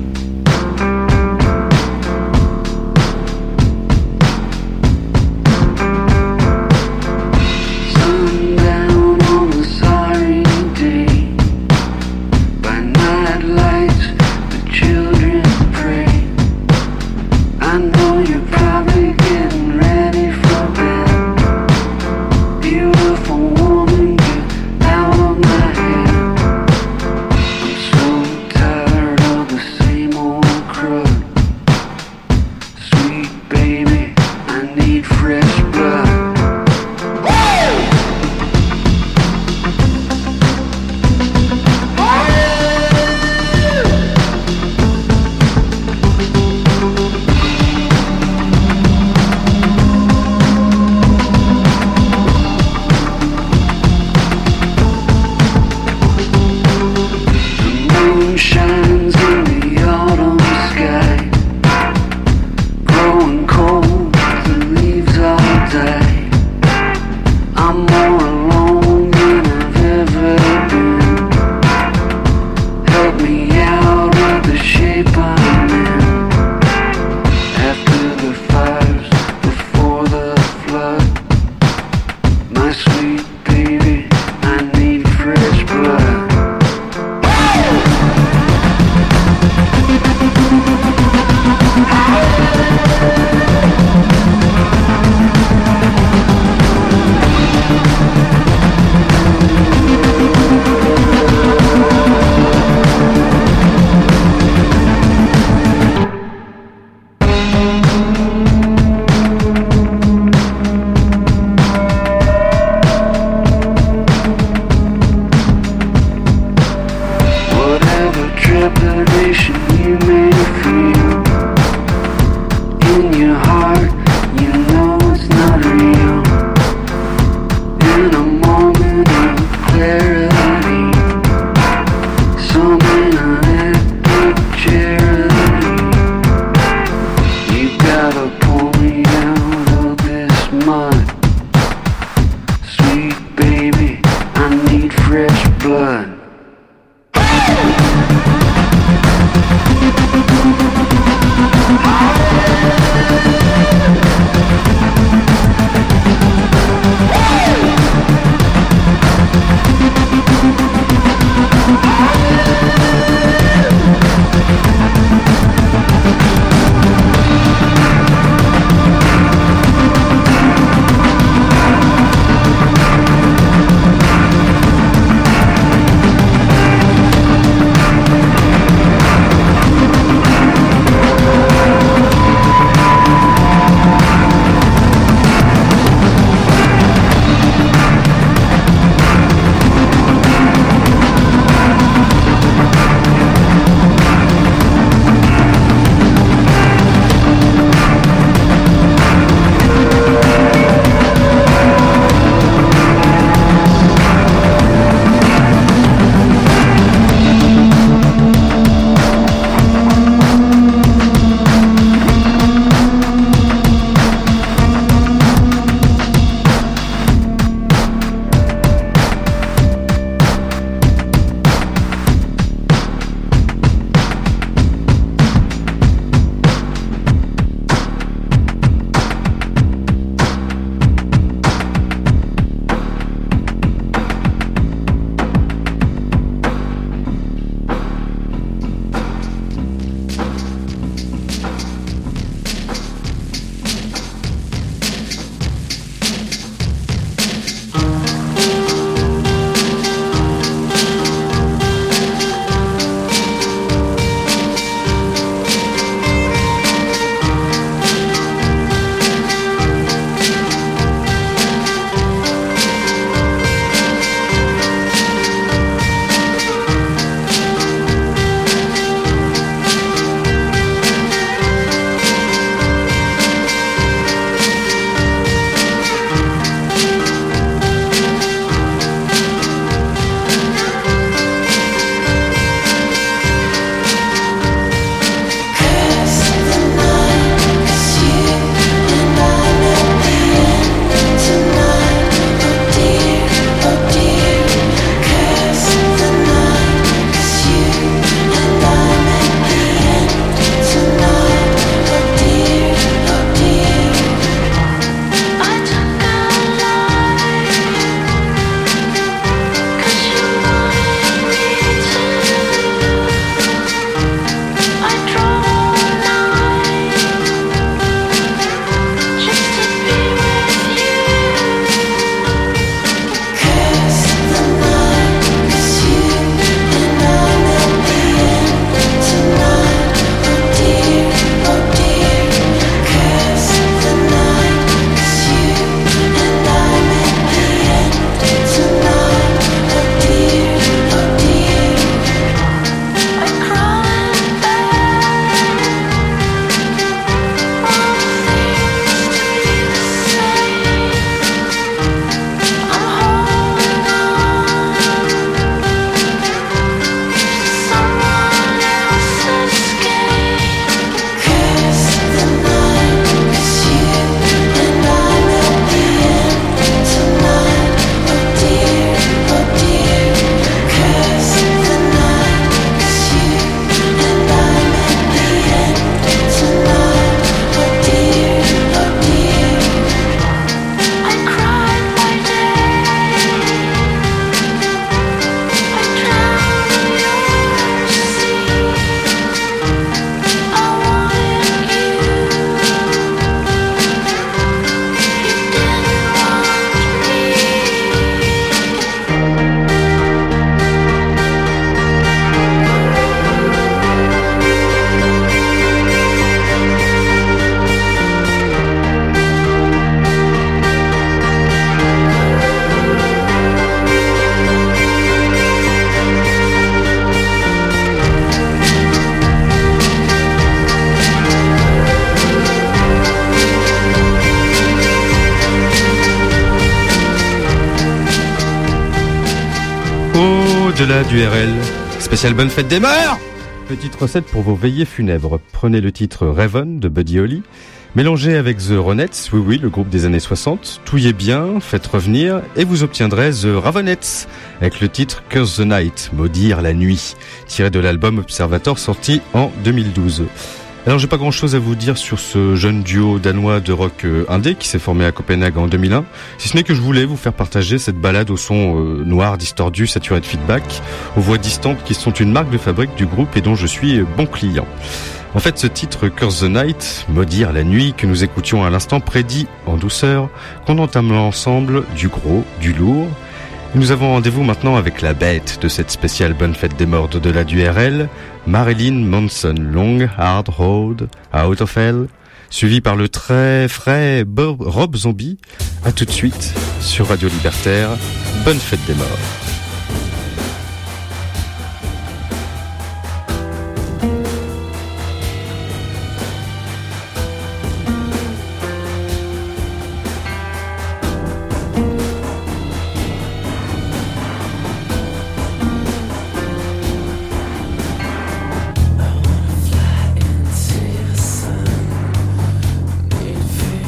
Au-delà du RL, spécial bonne fête des morts. Petite recette pour vos veillées funèbres. Prenez le titre Raven de Buddy Holly, mélangez avec The Ronettes, oui, le groupe des années 60, touillez bien, faites revenir, et vous obtiendrez The Ravenettes, avec le titre Curse the Night, maudire la nuit, tiré de l'album Observator sorti en 2012. Alors j'ai pas grand chose à vous dire sur ce jeune duo danois de rock indé qui s'est formé à Copenhague en 2001, si ce n'est que je voulais vous faire partager cette balade au son noir, distordu, saturé de feedback, aux voix distantes qui sont une marque de fabrique du groupe et dont je suis bon client. En fait, ce titre Curse the Night, maudire la nuit, que nous écoutions à l'instant, prédit en douceur qu'on entame l'ensemble du gros, du lourd. Nous avons rendez-vous maintenant avec la bête de cette spéciale bonne fête des morts de du RL, Marilyn Manson, Long Hard Road, Out of Hell, suivi par le très frais Rob Zombie. À tout de suite sur Radio Libertaire. Bonne fête des morts.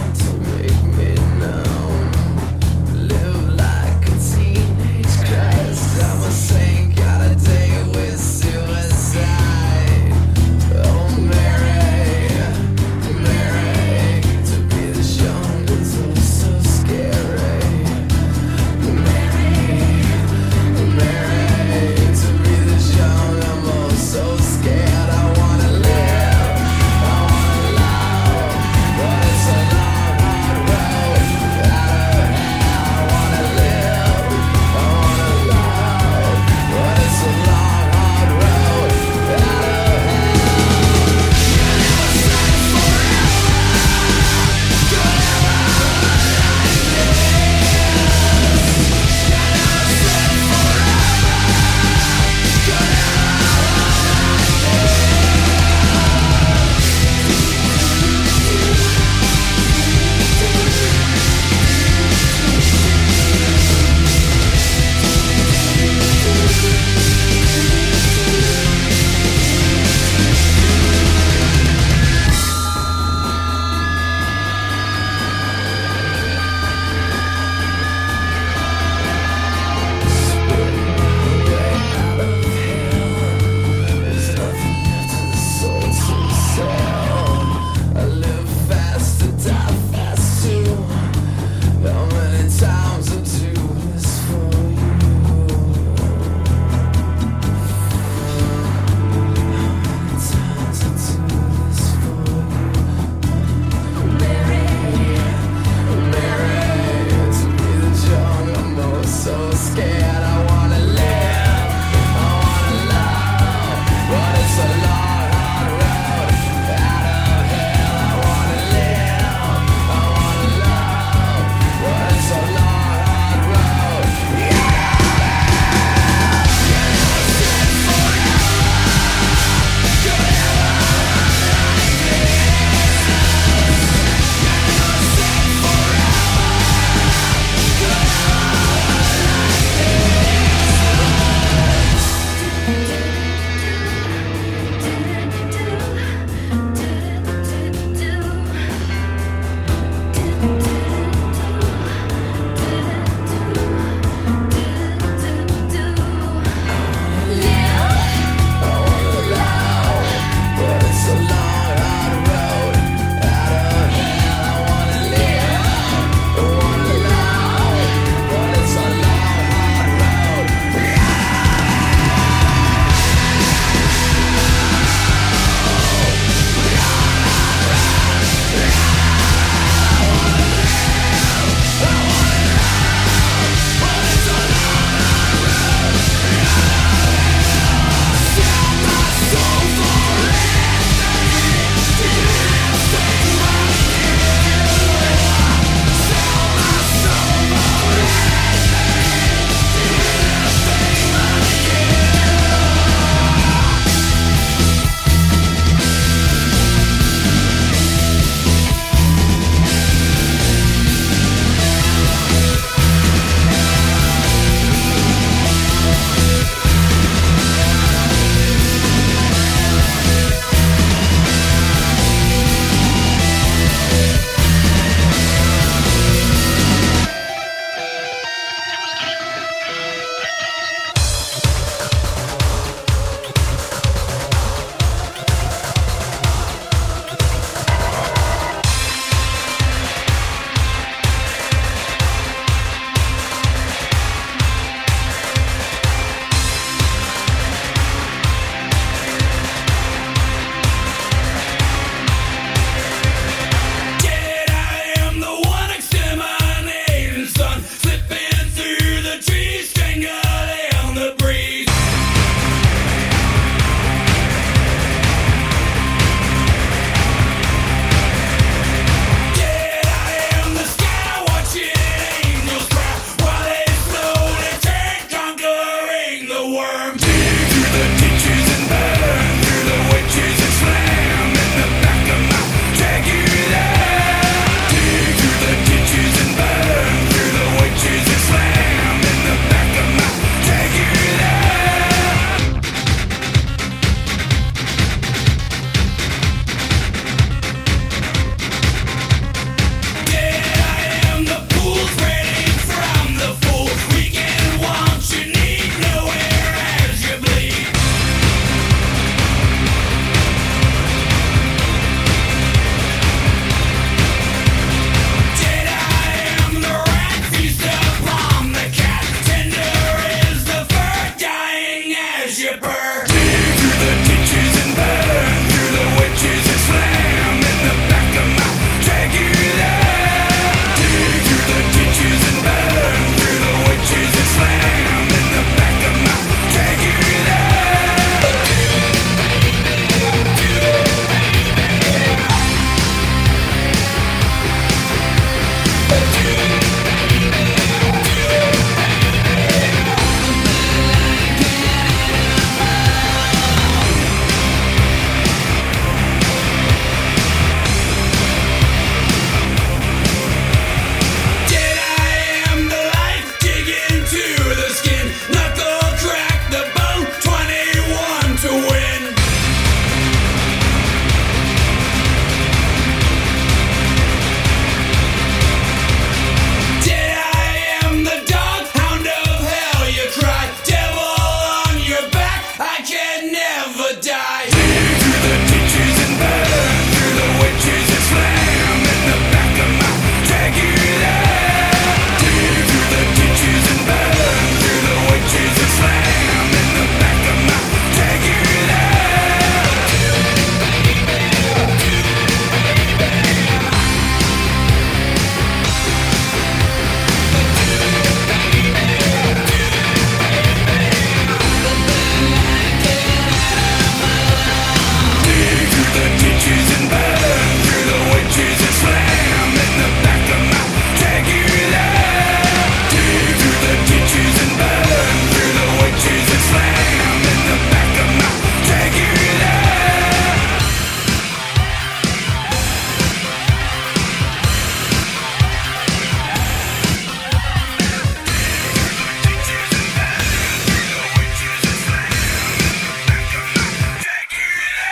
Live like a teenage Christ.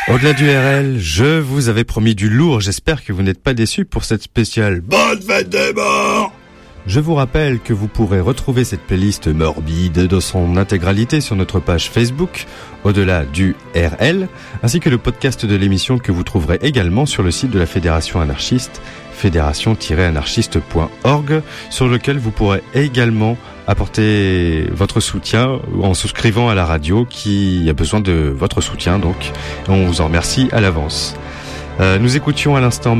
Au-delà du RL, je vous avais promis du lourd, j'espère que vous n'êtes pas déçus pour cette spéciale Bonne fête des morts. Je vous rappelle que vous pourrez retrouver cette playlist morbide dans son intégralité sur notre page Facebook, Au-delà du RL, ainsi que le podcast de l'émission que vous trouverez également sur le site de la Fédération anarchiste, fédération-anarchiste.org, sur lequel vous pourrez également apporter votre soutien en souscrivant à la radio qui a besoin de votre soutien, donc on vous en remercie à l'avance. Nous écoutions à l'instant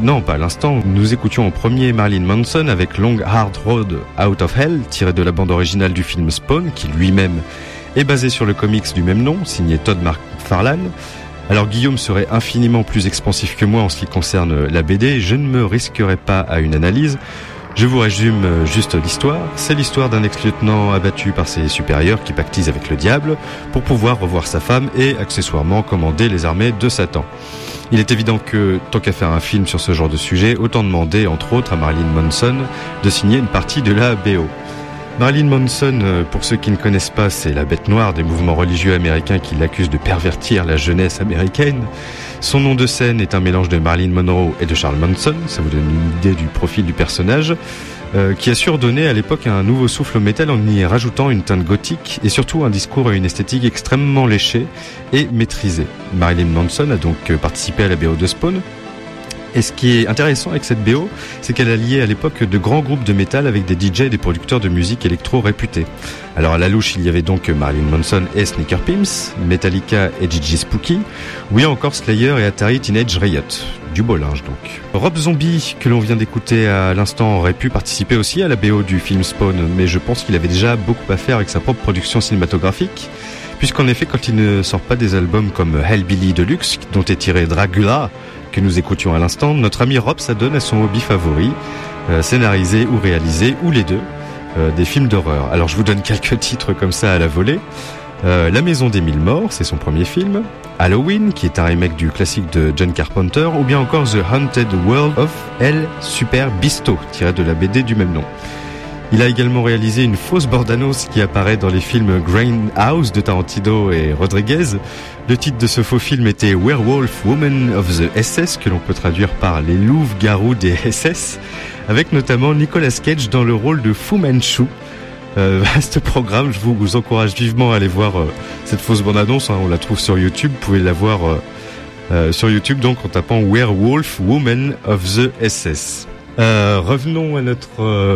nous écoutions en premier Marilyn Manson avec Long Hard Road Out of Hell, tiré de la bande originale du film Spawn, qui lui-même est basé sur le comics du même nom, signé Todd McFarlane. Alors Guillaume serait infiniment plus expansif que moi en ce qui concerne la BD, je ne me risquerai pas à une analyse. Je vous résume juste l'histoire. C'est l'histoire d'un ex-lieutenant abattu par ses supérieurs qui pactise avec le diable pour pouvoir revoir sa femme et accessoirement commander les armées de Satan. Il est évident que, tant qu'à faire un film sur ce genre de sujet, autant demander, entre autres, à Marilyn Manson de signer une partie de la BO. Marilyn Manson, pour ceux qui ne connaissent pas, c'est la bête noire des mouvements religieux américains qui l'accusent de pervertir la jeunesse américaine. Son nom de scène est un mélange de Marilyn Monroe et de Charles Manson, ça vous donne une idée du profil du personnage, qui a surdonné à l'époque un nouveau souffle au métal en y rajoutant une teinte gothique et surtout un discours et une esthétique extrêmement léchés et maîtrisés. Marilyn Manson a donc participé à la BO de Spawn. Et ce qui est intéressant avec cette BO, c'est qu'elle a lié à l'époque de grands groupes de métal avec des DJ et des producteurs de musique électro réputés. Alors à la louche, il y avait donc Marilyn Manson et Sneaker Pimps, Metallica et Gigi Spooky, ou bien encore Slayer et Atari Teenage Riot. Du beau linge donc. Rob Zombie, que l'on vient d'écouter à l'instant, aurait pu participer aussi à la BO du film Spawn, mais je pense qu'il avait déjà beaucoup à faire avec sa propre production cinématographique, puisqu'en effet, quand il ne sort pas des albums comme Hellbilly Deluxe, dont est tiré Dracula, que nous écoutions à l'instant, notre ami Rob s'adonne à son hobby favori, scénariser ou réaliser, ou les deux, des films d'horreur. Alors je vous donne quelques titres comme ça à la volée. La Maison des Mille Morts, c'est son premier film. Halloween, qui est un remake du classique de John Carpenter, ou bien encore The Haunted World of El Super Bisto, tiré de la BD du même nom. Il a également réalisé une fausse bande-annonce qui apparaît dans les films Grindhouse de Tarantino et Rodriguez. Le titre de ce faux film était Werewolf Woman of the SS, que l'on peut traduire par Les louves-garous des SS, avec notamment Nicolas Cage dans le rôle de Fu Manchu. Vaste programme, je vous encourage vivement à aller voir cette fausse bande-annonce, on la trouve sur YouTube, vous pouvez la voir sur YouTube donc en tapant Werewolf Woman of the SS. Revenons à notre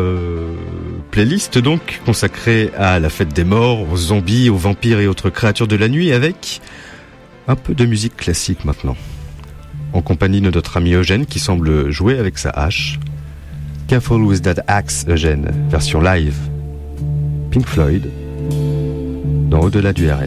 playlist donc consacrée à la fête des morts, aux zombies, aux vampires et autres créatures de la nuit, avec un peu de musique classique maintenant, en compagnie de notre ami Eugène qui semble jouer avec sa hache. Careful with that axe, Eugène, version live. Pink Floyd dans Au-delà du RL.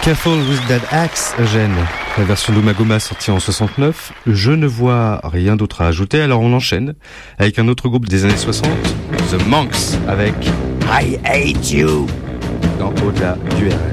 Careful with that axe, Eugène. La version d'Umagoma sortie en 69. Je ne vois rien d'autre à ajouter, alors on enchaîne avec un autre groupe des années 60, The Monks, avec I Hate You dans Au-delà du RL.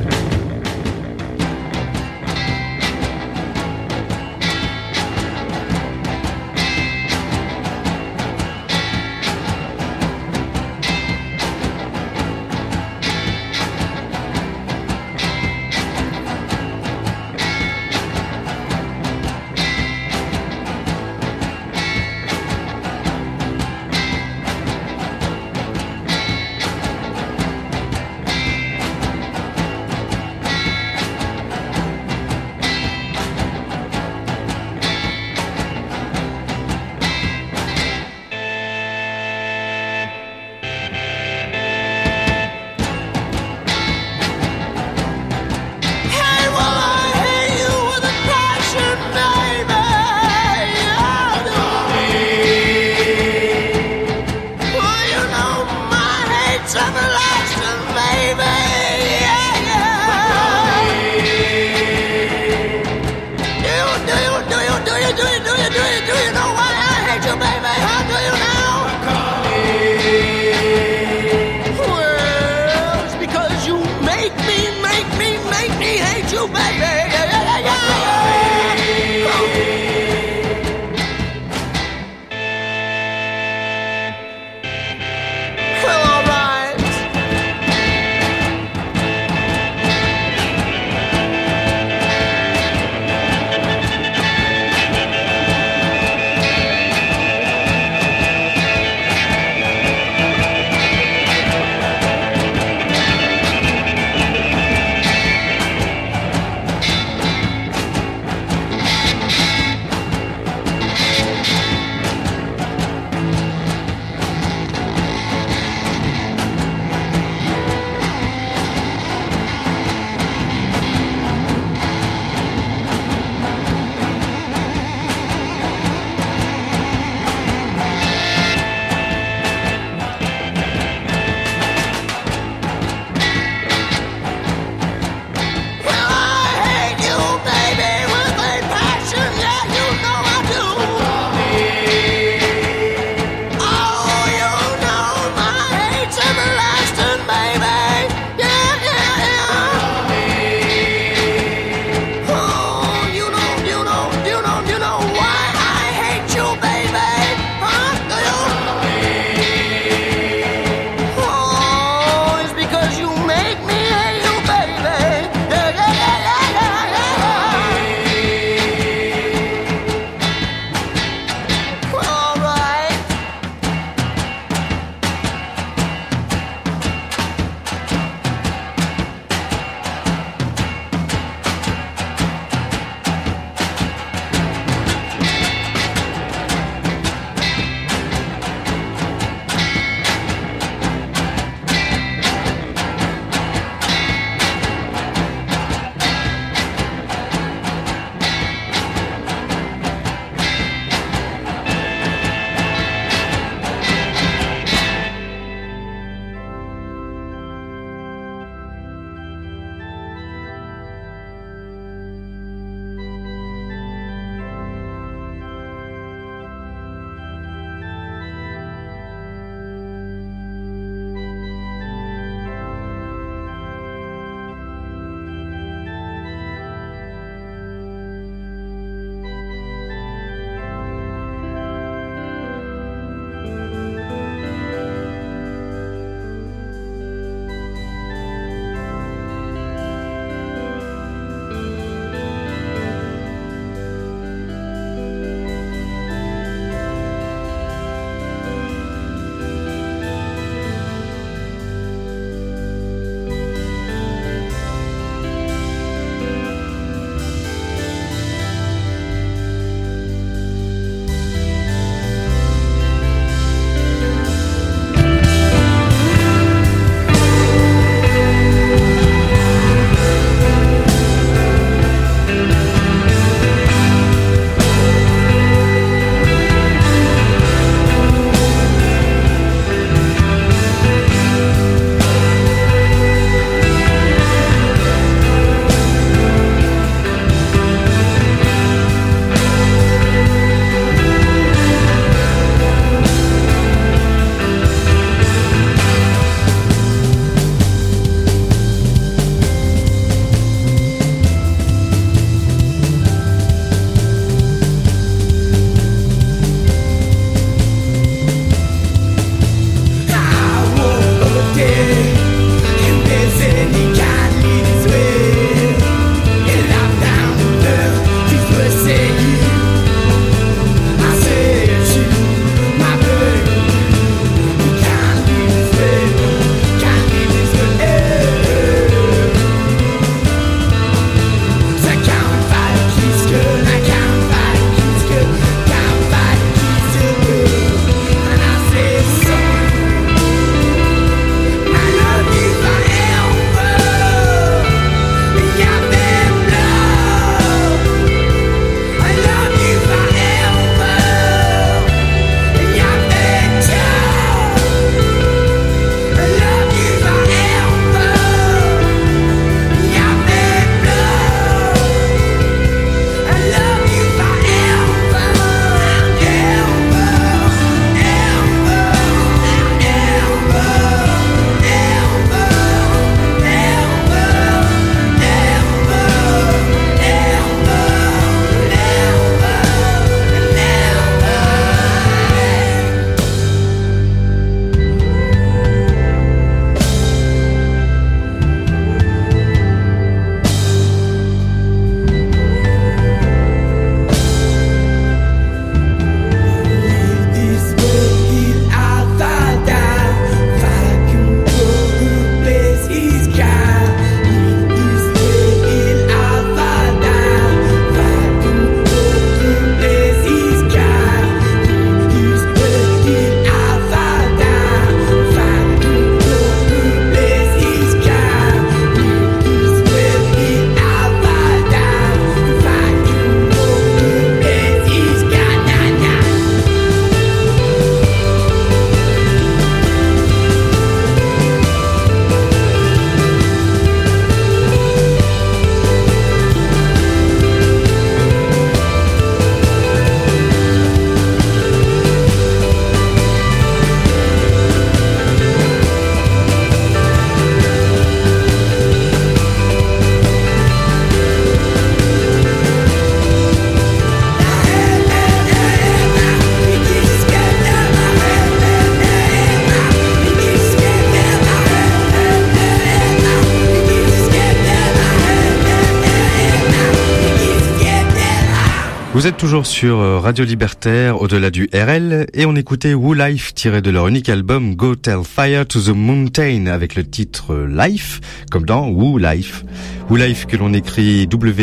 Vous êtes toujours sur Radio Libertaire, au-delà du RL, et on écoutait Woo Life tiré de leur unique album Go Tell Fire to the Mountain avec le titre Life, comme dans Woo Life. Woo Life que l'on écrit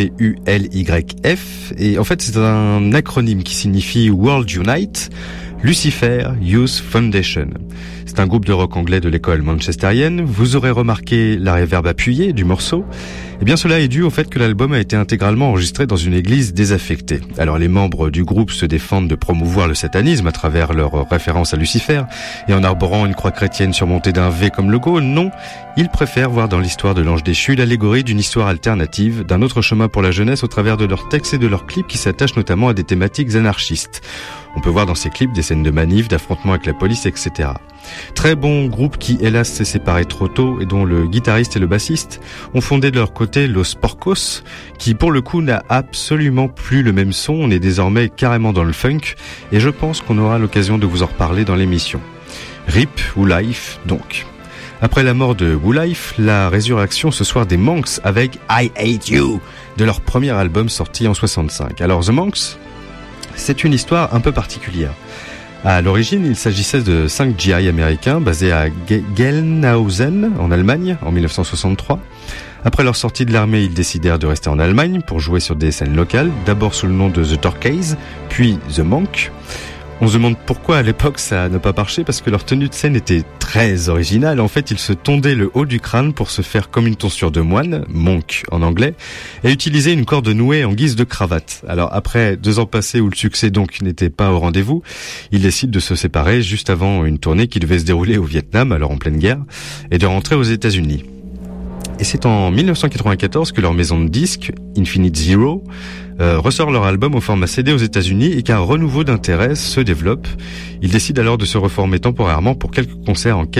W-U-L-Y-F, et en fait c'est un acronyme qui signifie World Unite, Lucifer Youth Foundation. C'est un groupe de rock anglais de l'école manchesterienne. Vous aurez remarqué la reverb appuyée du morceau. Eh bien, cela est dû au fait que l'album a été intégralement enregistré dans une église désaffectée. Alors, les membres du groupe se défendent de promouvoir le satanisme à travers leur référence à Lucifer, et en arborant une croix chrétienne surmontée d'un V comme logo. Non, ils préfèrent voir dans l'histoire de l'ange déchu l'allégorie d'une histoire alternative, d'un autre chemin pour la jeunesse au travers de leurs textes et de leurs clips qui s'attachent notamment à des thématiques anarchistes. On peut voir dans ces clips des scènes de manifs, d'affrontements avec la police, etc. Très bon groupe qui, hélas, s'est séparé trop tôt et dont le guitariste et le bassiste ont fondé de leur côté Los Porcos, qui pour le coup n'a absolument plus le même son. On est désormais carrément dans le funk et je pense qu'on aura l'occasion de vous en reparler dans l'émission. RIP Woo Life donc. Après la mort de Woo Life, la résurrection ce soir des Monks avec I Hate You de leur premier album sorti en 65. Alors The Monks, c'est une histoire un peu particulière. À l'origine, il s'agissait de 5 GI américains basés à Gelnhausen, en Allemagne, en 1963. Après leur sortie de l'armée, ils décidèrent de rester en Allemagne pour jouer sur des scènes locales, d'abord sous le nom de The Turkeys, puis The Monk. On se demande pourquoi à l'époque ça n'a pas marché, parce que leur tenue de scène était très originale. En fait, ils se tondaient le haut du crâne pour se faire comme une tonsure de moine, monk en anglais, et utilisaient une corde nouée en guise de cravate. Alors après 2 ans passés où le succès donc n'était pas au rendez-vous, ils décident de se séparer juste avant une tournée qui devait se dérouler au Vietnam, alors en pleine guerre, et de rentrer aux États-Unis. Et c'est en 1994 que leur maison de disques, Infinite Zero, ressort leur album au format CD aux États-Unis et qu'un renouveau d'intérêt se développe. Ils décident alors de se reformer temporairement pour quelques concerts en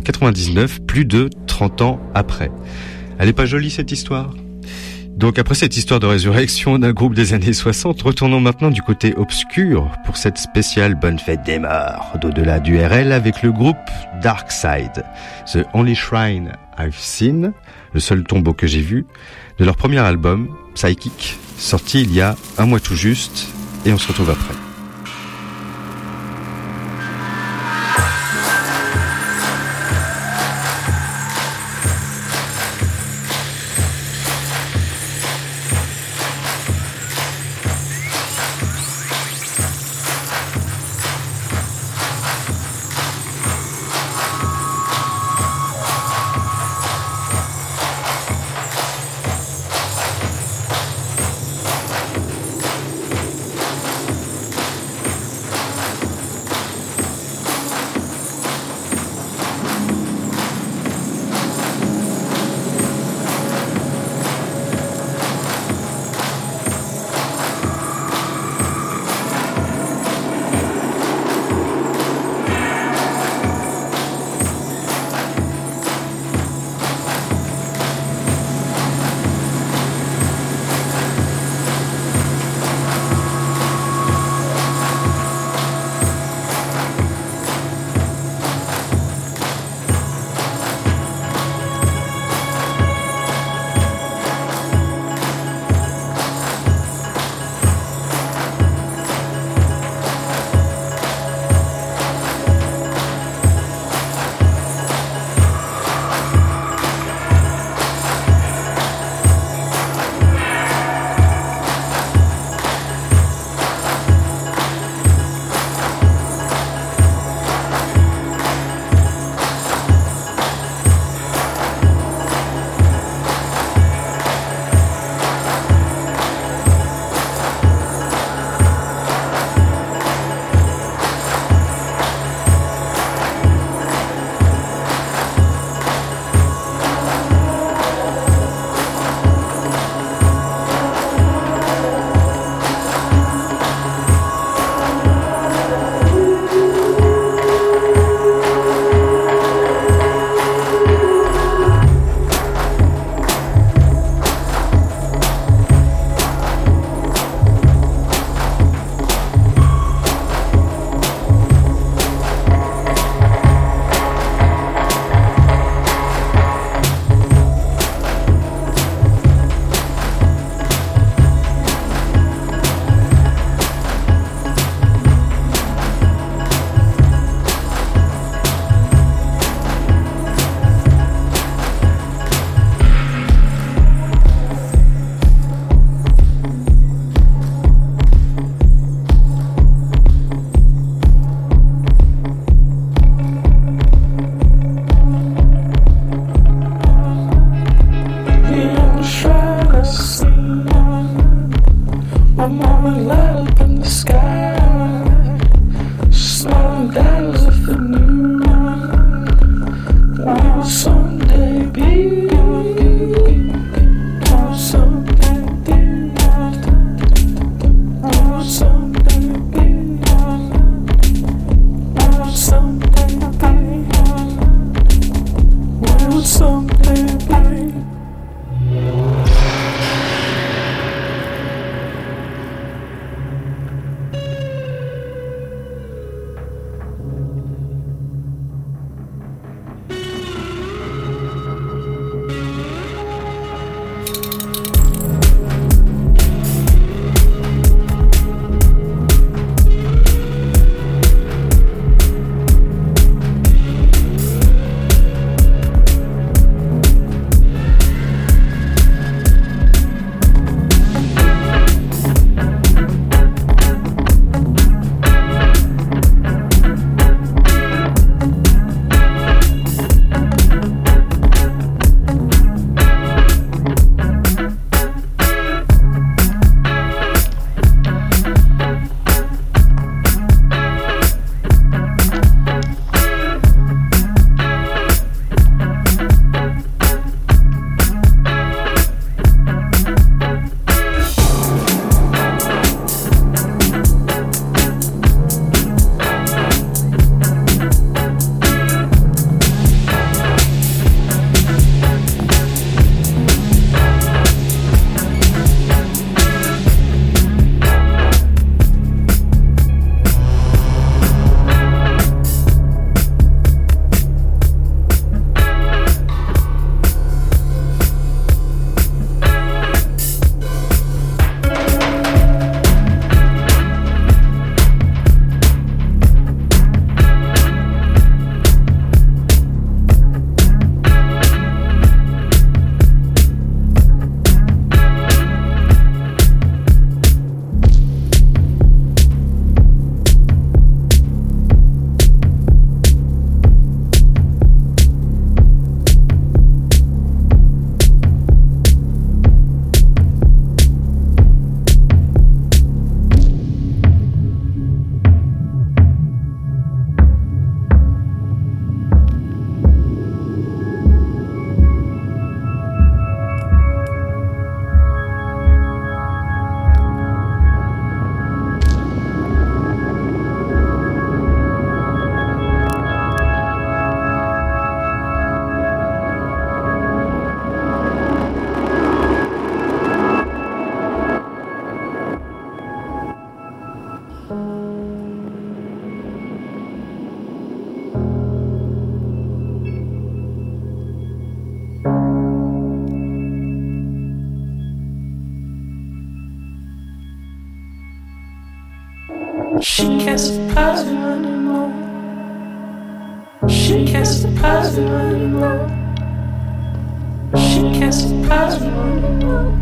99, plus de 30 ans après. Elle est pas jolie cette histoire ? Donc après cette histoire de résurrection d'un groupe des années 60, retournons maintenant du côté obscur pour cette spéciale Bonne Fête des Morts d'au-delà du RL avec le groupe Darkside, The Only Shrine I've Seen, le seul tombeau que j'ai vu, de leur premier album, Psychic, sorti il y a un mois tout juste, et on se retrouve après. She can't surprise you anymore. She can't surprise you anymore. She can't surprise you anymore.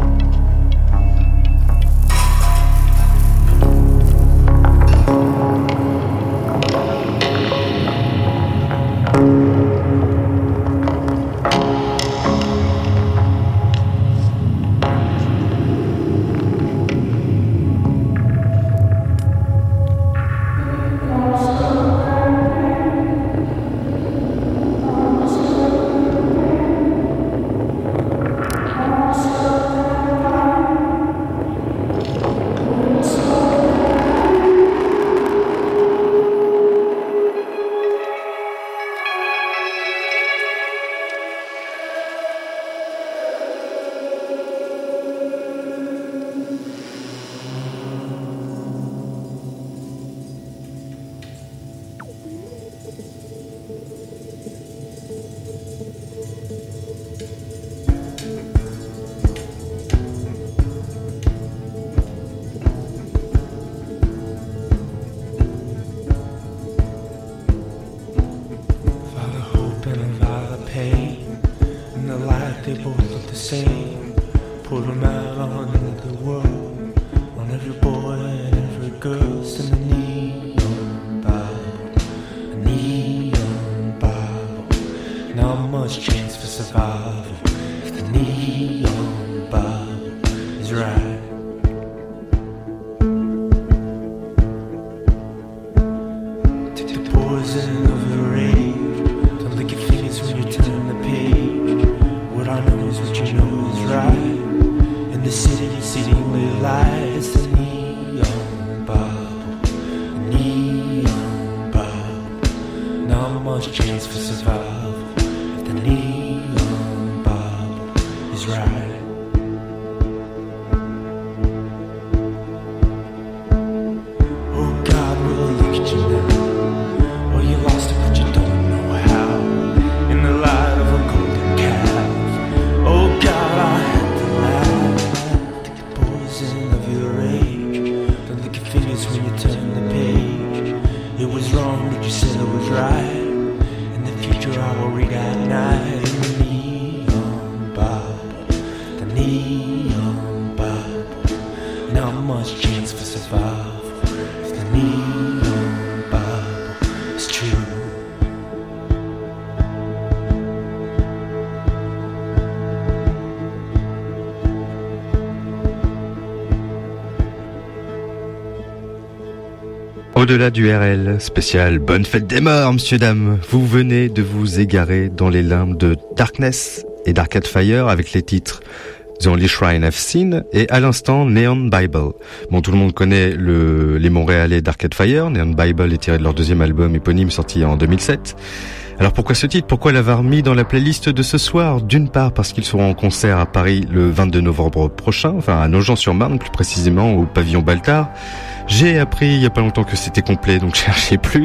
Au-delà du RL, spécial Bonne Fête des Morts, monsieur, dame. Vous venez de vous égarer dans les limbes de Darkness et d'Arcade Fire avec les titres The Only Shrine I've Seen et à l'instant Neon Bible. Bon, tout le monde connaît les Montréalais d'Arcade Fire. Neon Bible est tiré de leur deuxième album éponyme sorti en 2007. Alors pourquoi ce titre? Pourquoi l'avoir mis dans la playlist de ce soir? D'une part parce qu'ils seront en concert à Paris le 22 novembre prochain, enfin à Nogent-sur-Marne plus précisément au pavillon Baltard. J'ai appris il y a pas longtemps que c'était complet, donc je cherchais plus.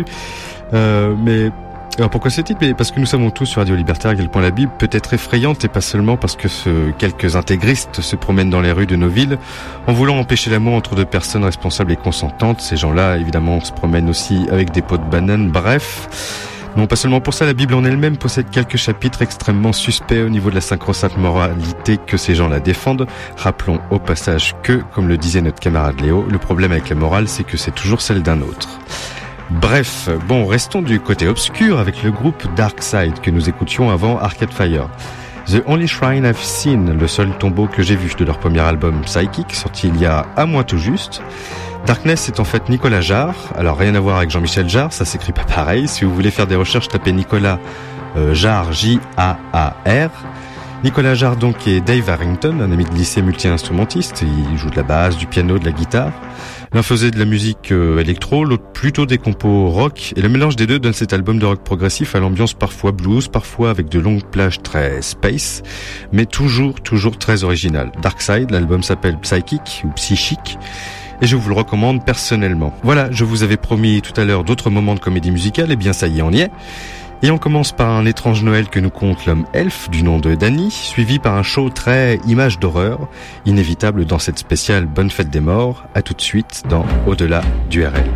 Mais alors pourquoi ce titre? Mais parce que nous savons tous sur Radio Libertaire à quel point la Bible peut être effrayante, et pas seulement parce que quelques intégristes se promènent dans les rues de nos villes en voulant empêcher l'amour entre deux personnes responsables et consentantes. Ces gens-là, évidemment, se promènent aussi avec des pots de banane. Bref. Non, pas seulement pour ça, la Bible en elle-même possède quelques chapitres extrêmement suspects au niveau de la sacro-sainte moralité que ces gens-là défendent. Rappelons au passage que, comme le disait notre camarade Léo, le problème avec la morale, c'est que c'est toujours celle d'un autre. Bref, bon, restons du côté obscur avec le groupe Darkside que nous écoutions avant Arcade Fire. The Only Shrine I've Seen, le seul tombeau que j'ai vu de leur premier album Psychic, sorti il y a un mois tout juste. Darkness, c'est en fait Nicolas Jarre. Alors rien à voir avec Jean-Michel Jarre, ça s'écrit pas pareil. Si vous voulez faire des recherches, tapez Nicolas Jarre, J-A-A-R. Nicolas Jarre donc est Dave Harrington, un ami de lycée multi-instrumentiste. Il joue de la basse, du piano, de la guitare. L'un faisait de la musique électro, l'autre plutôt des compos rock. Et le mélange des deux donne cet album de rock progressif à l'ambiance parfois blues, parfois avec de longues plages très space, mais toujours très original. Darkside, l'album s'appelle Psychic ou Psychic. et je vous le recommande personnellement. Voilà, je vous avais promis tout à l'heure d'autres moments de comédie musicale, et bien ça y est, on y est. Et on commence par un étrange Noël que nous conte l'homme elfe du nom de Danny, suivi par un show très image d'horreur, inévitable dans cette spéciale Bonne Fête des Morts. À tout de suite dans Au-delà du RL.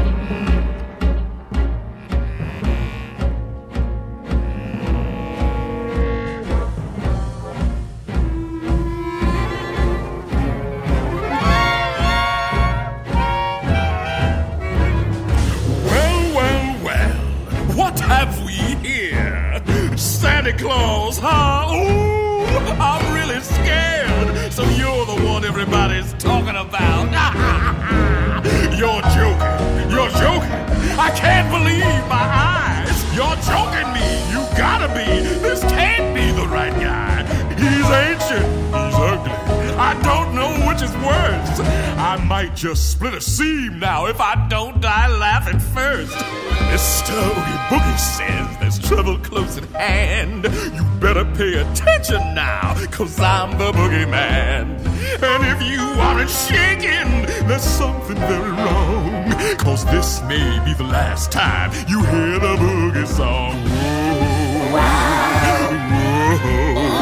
Santa Claus, huh? Ooh, I'm really scared. So you're the one everybody's talking about. You're joking. You're joking. I can't believe my eyes. You're joking me. You gotta be. This can't be the right guy. He's ancient. He's ugly. I don't know which is worse. I might just split a seam now if I don't die laughing first. Mr. Oogie Boogie says there's trouble close at hand. You better pay attention now, 'cause I'm the boogeyman. And if you aren't shaking, there's something very wrong, 'cause this may be the last time you hear the boogie song. Whoa. Whoa.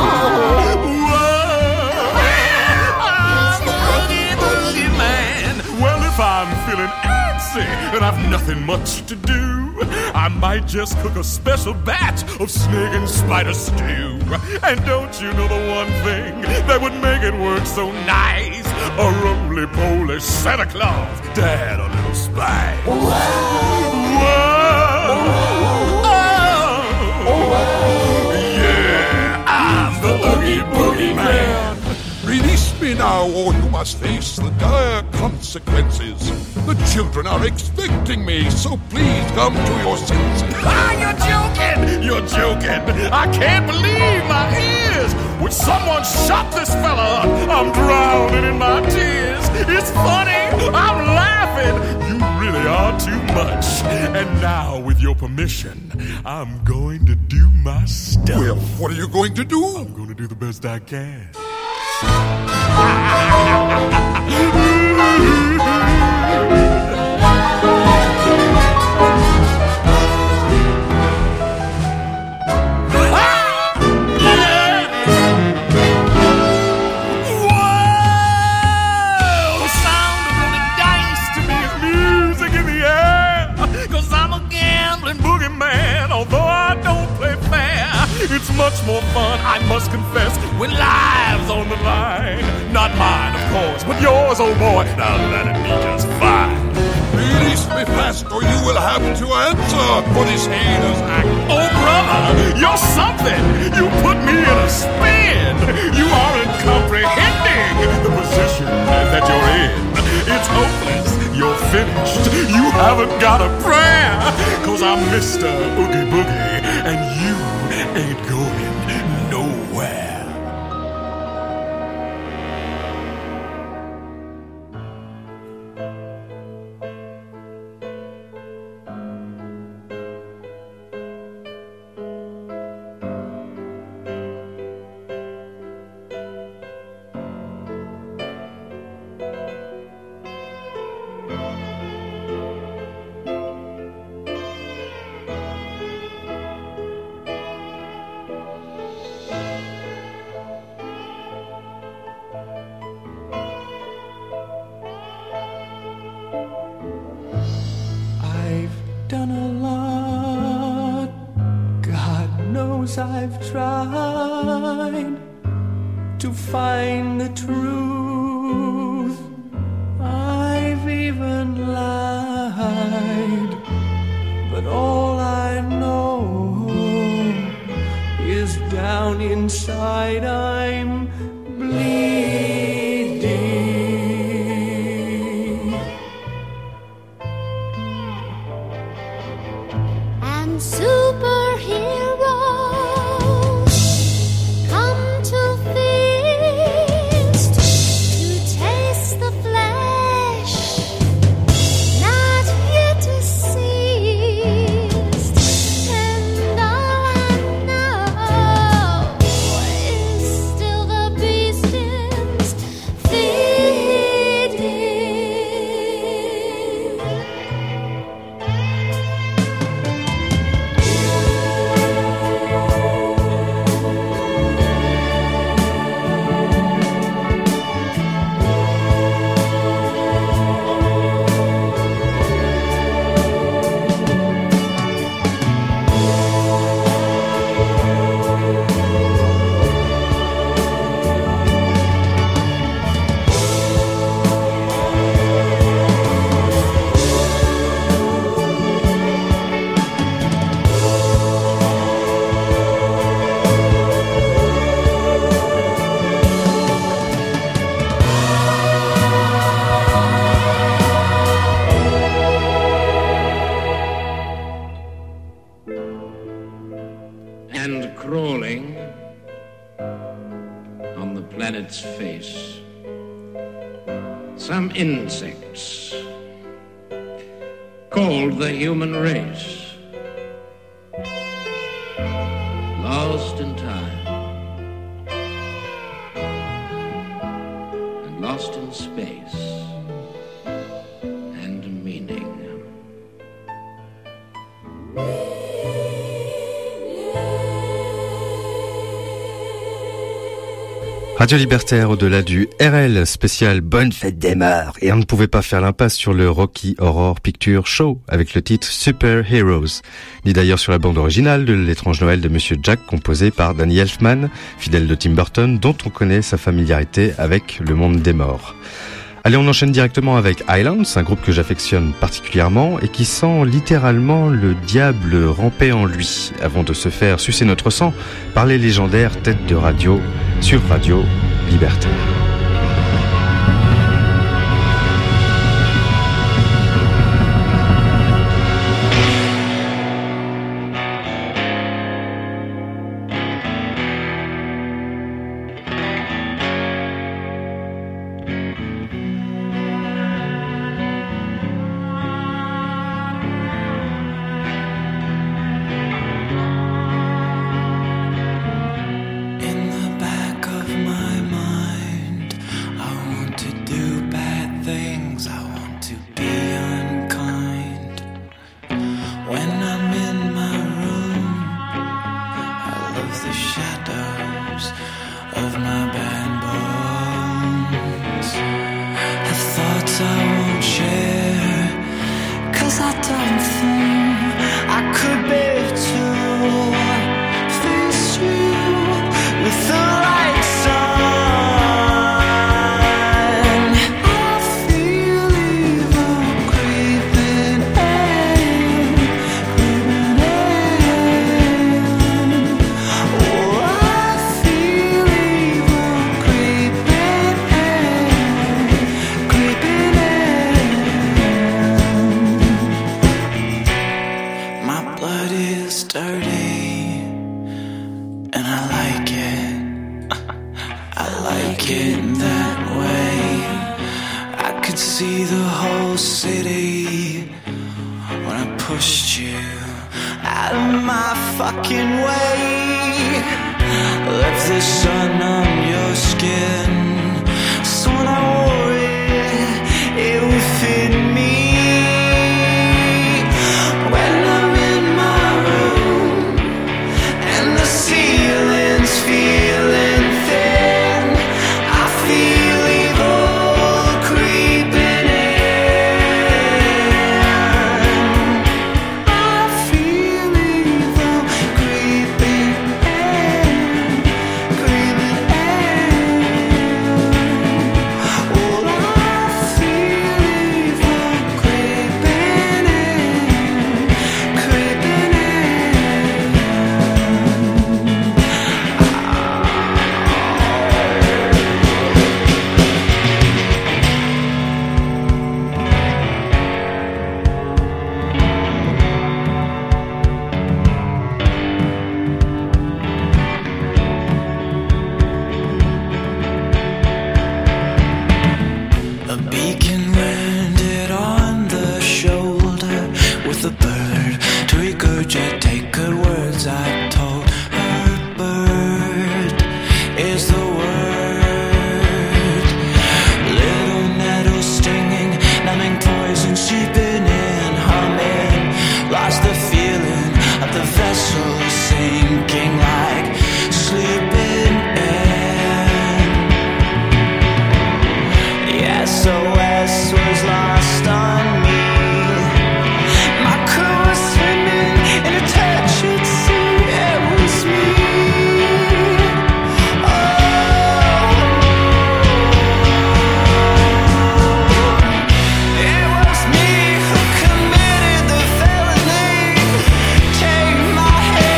I'm the Oogie Boogie Man. Well, if I'm feeling antsy and I've nothing much to do, I might just cook a special batch of snake and spider stew. And don't you know the one thing that would make it work so nice? A roly-poly Santa Claus to add a little spice. Whoa. Oh. Yeah, I'm the Oogie Boogie Man. Release me now, or you must face the dire consequences. The children are expecting me, so please come to your senses. Ah, you're joking! You're joking! I can't believe my ears! Would someone shut this fella up? I'm drowning in my tears. It's funny, I'm laughing. You really are too much. And now, with your permission, I'm going to do my stuff. Well, what are you going to do? I'm going to do the best I can. It's much more fun, I must confess, when lives on the line. Not mine, of course, but yours, oh boy. Now that'd be just fine. Release me fast, or you will have to answer for this heinous act. Oh, brother, you're something. You put me in a spin. You aren't comprehending the position that you're in. It's hopeless. You're finished. You haven't got a prayer. 'Cause I'm Mr. Oogie Boogie, and you ain't going nowhere. Done a lot, God knows I've tried to find the truth. I've even lied, but all I know is down inside I'm bleeding. Superheroes come to feast, to taste the flesh, not yet deceased. And all I know is still the beast is feeding. some insects called the human race, lost in time and lost in space and meaning. Radio Libertaire au-delà du RL, spécial Bonne Fête des Morts. Et on ne pouvait pas faire l'impasse sur le Rocky Horror Picture Show avec le titre Super Heroes, ni d'ailleurs sur la bande originale de L'étrange Noël de Monsieur Jack, composée par Danny Elfman, fidèle de Tim Burton, dont on connaît sa familiarité avec le monde des morts. Allez, on enchaîne directement avec Islands, un groupe que j'affectionne particulièrement et qui sent littéralement le diable ramper en lui, avant de se faire sucer notre sang par les légendaires têtes de radio sur Radio Libertaire. My head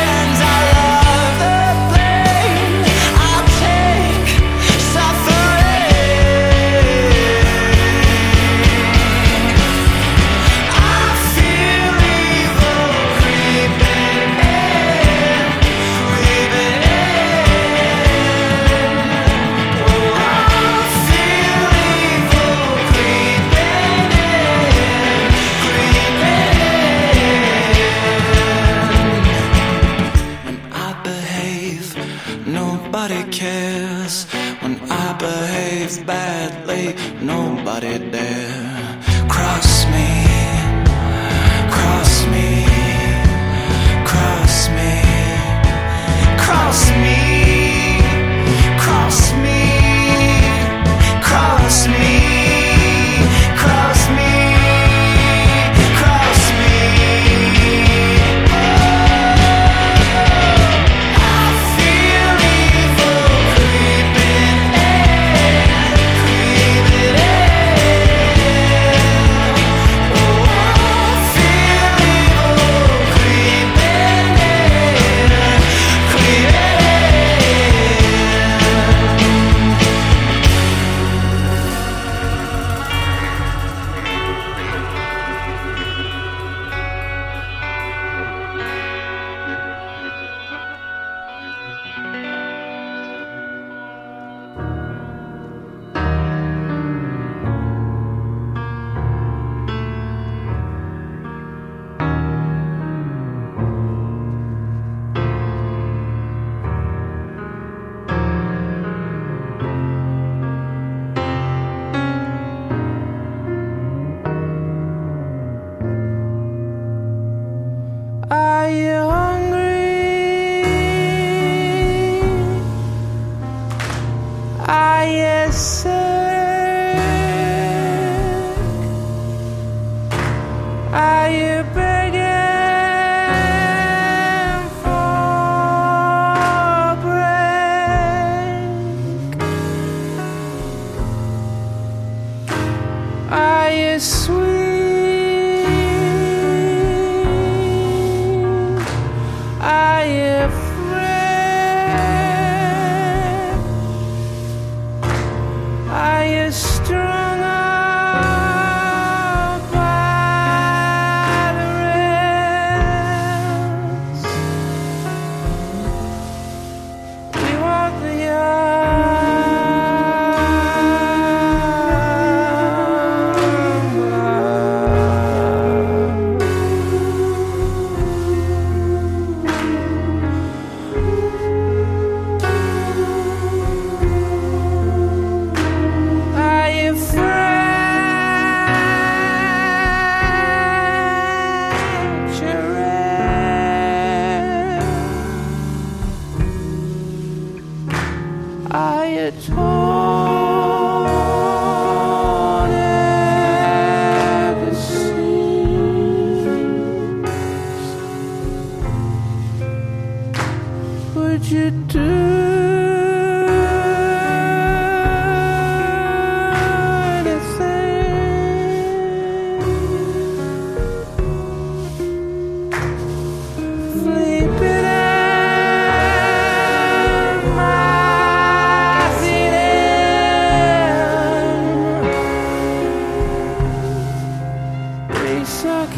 nobody dare cross me, cross me, cross me, cross me, cross me, cross me, cross me, cross me. I feel evil creeping in, creeping in. Oh, I feel evil creeping in, creeping in. Are you hungry? Are you sick? Are you begging for break? Are you sweet? Are you afraid? Are you strung out by the rails? We want the Are you fractured? Are you torn at the seams? Would you do sleeping at my feet in? We suck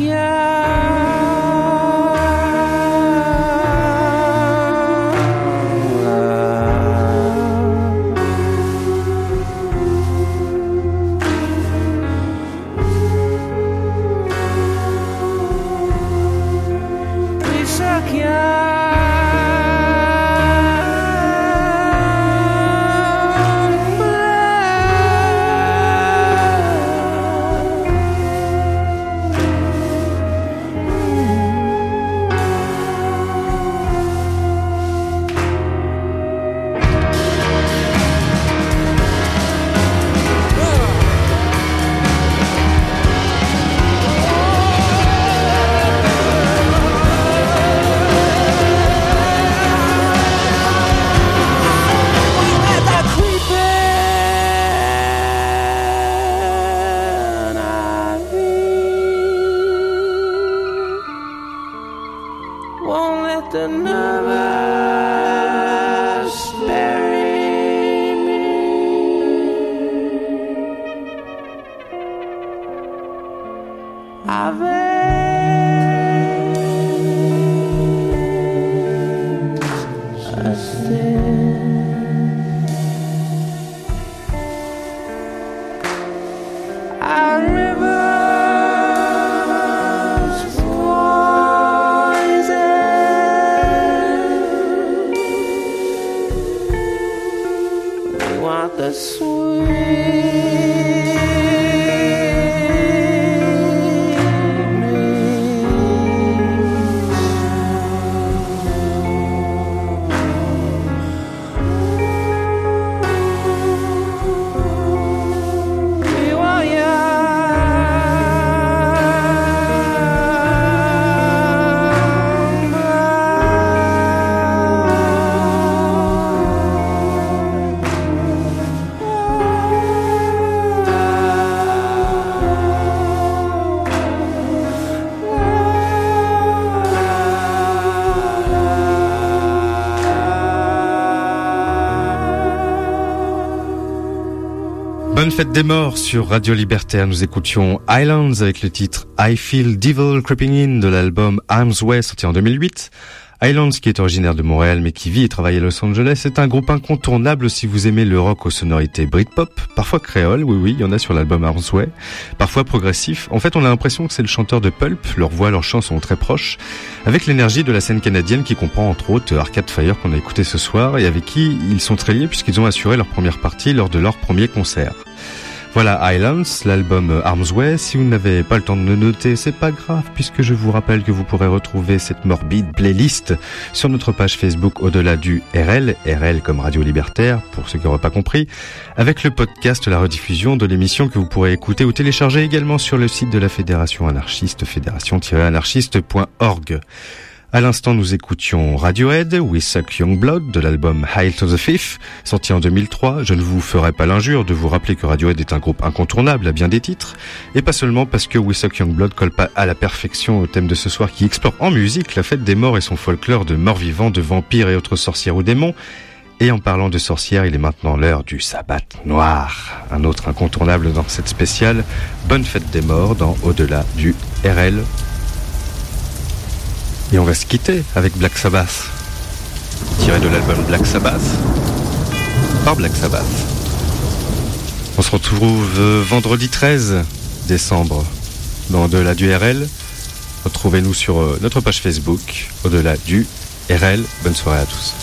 We suck Won't let the nervous bury me. I've a sin. Our rivers poison. We want the sweet Bonne fête des morts sur Radio Libertaire. Nous écoutions Islands avec le titre I Feel Devil Creeping In de l'album Arms Way sorti en 2008. Islands, qui est originaire de Montréal mais qui vit et travaille à Los Angeles, est un groupe incontournable si vous aimez le rock aux sonorités Britpop, parfois créole, oui, il y en a sur l'album Arms Way, parfois progressif. En fait, on a l'impression que c'est le chanteur de Pulp, leur voix, leurs chants sont très proches, avec l'énergie de la scène canadienne qui comprend entre autres Arcade Fire qu'on a écouté ce soir et avec qui ils sont très liés puisqu'ils ont assuré leur première partie lors de leur premier concert. Voilà Islands, l'album Arms Way. Si vous n'avez pas le temps de le noter, c'est pas grave puisque je vous rappelle que vous pourrez retrouver cette morbide playlist sur notre page Facebook au-delà du RL comme Radio Libertaire pour ceux qui n'auraient pas compris, avec le podcast, la rediffusion de l'émission que vous pourrez écouter ou télécharger également sur le site de la Fédération Anarchiste, fédération-anarchiste.org. À l'instant, nous écoutions Radiohead, We Suck Young Blood, de l'album Hail to the Fifth, sorti en 2003. Je ne vous ferai pas l'injure de vous rappeler que Radiohead est un groupe incontournable à bien des titres, et pas seulement parce que We Suck Young Blood colle pas à la perfection au thème de ce soir qui explore en musique la fête des morts et son folklore de morts vivants, de vampires et autres sorcières ou démons. Et en parlant de sorcières, il est maintenant l'heure du sabbat noir, un autre incontournable dans cette spéciale. Bonne fête des morts dans Au-delà du RL. Et on va se quitter avec Black Sabbath, tiré de l'album Black Sabbath, par Black Sabbath. On se retrouve vendredi 13 décembre dans Au-delà du RL. Retrouvez-nous sur notre page Facebook, Au-delà du RL. Bonne soirée à tous.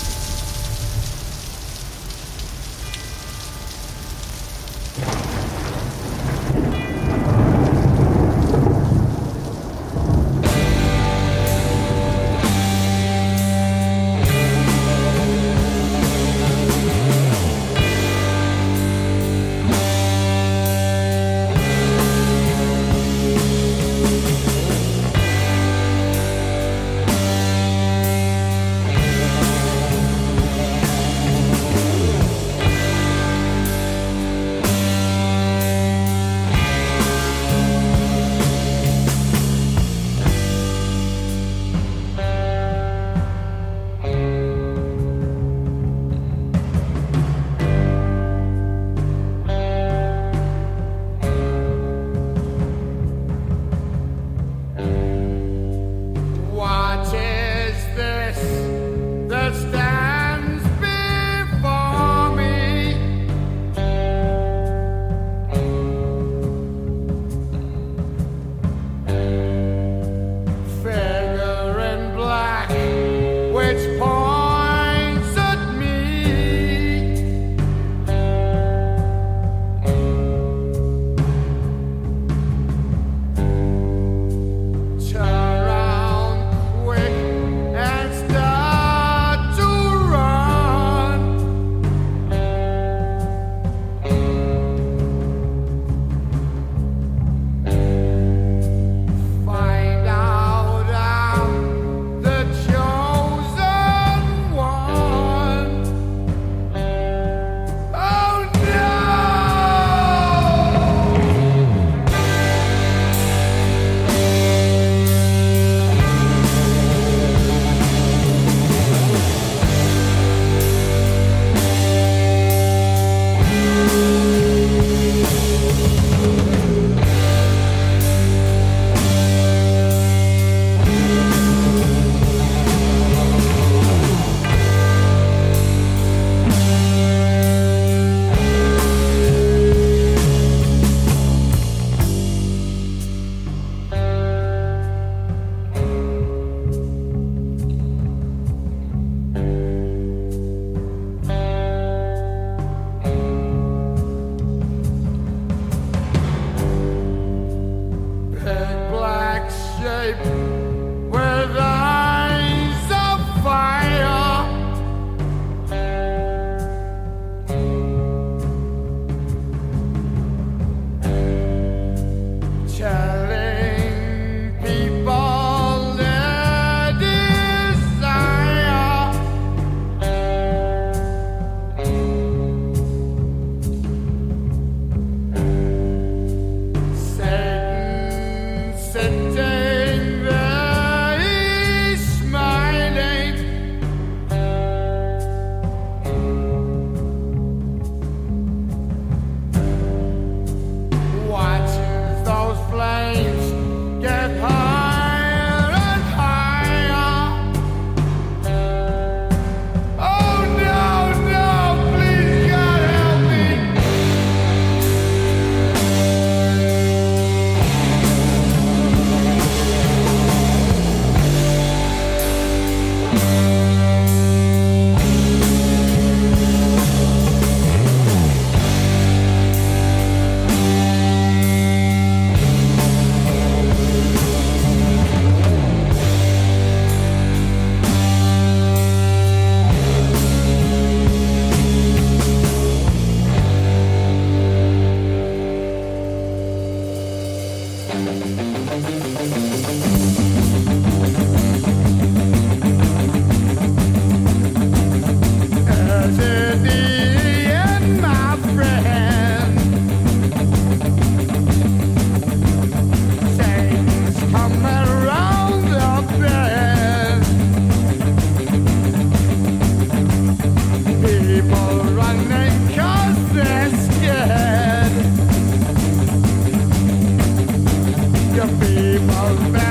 was bad.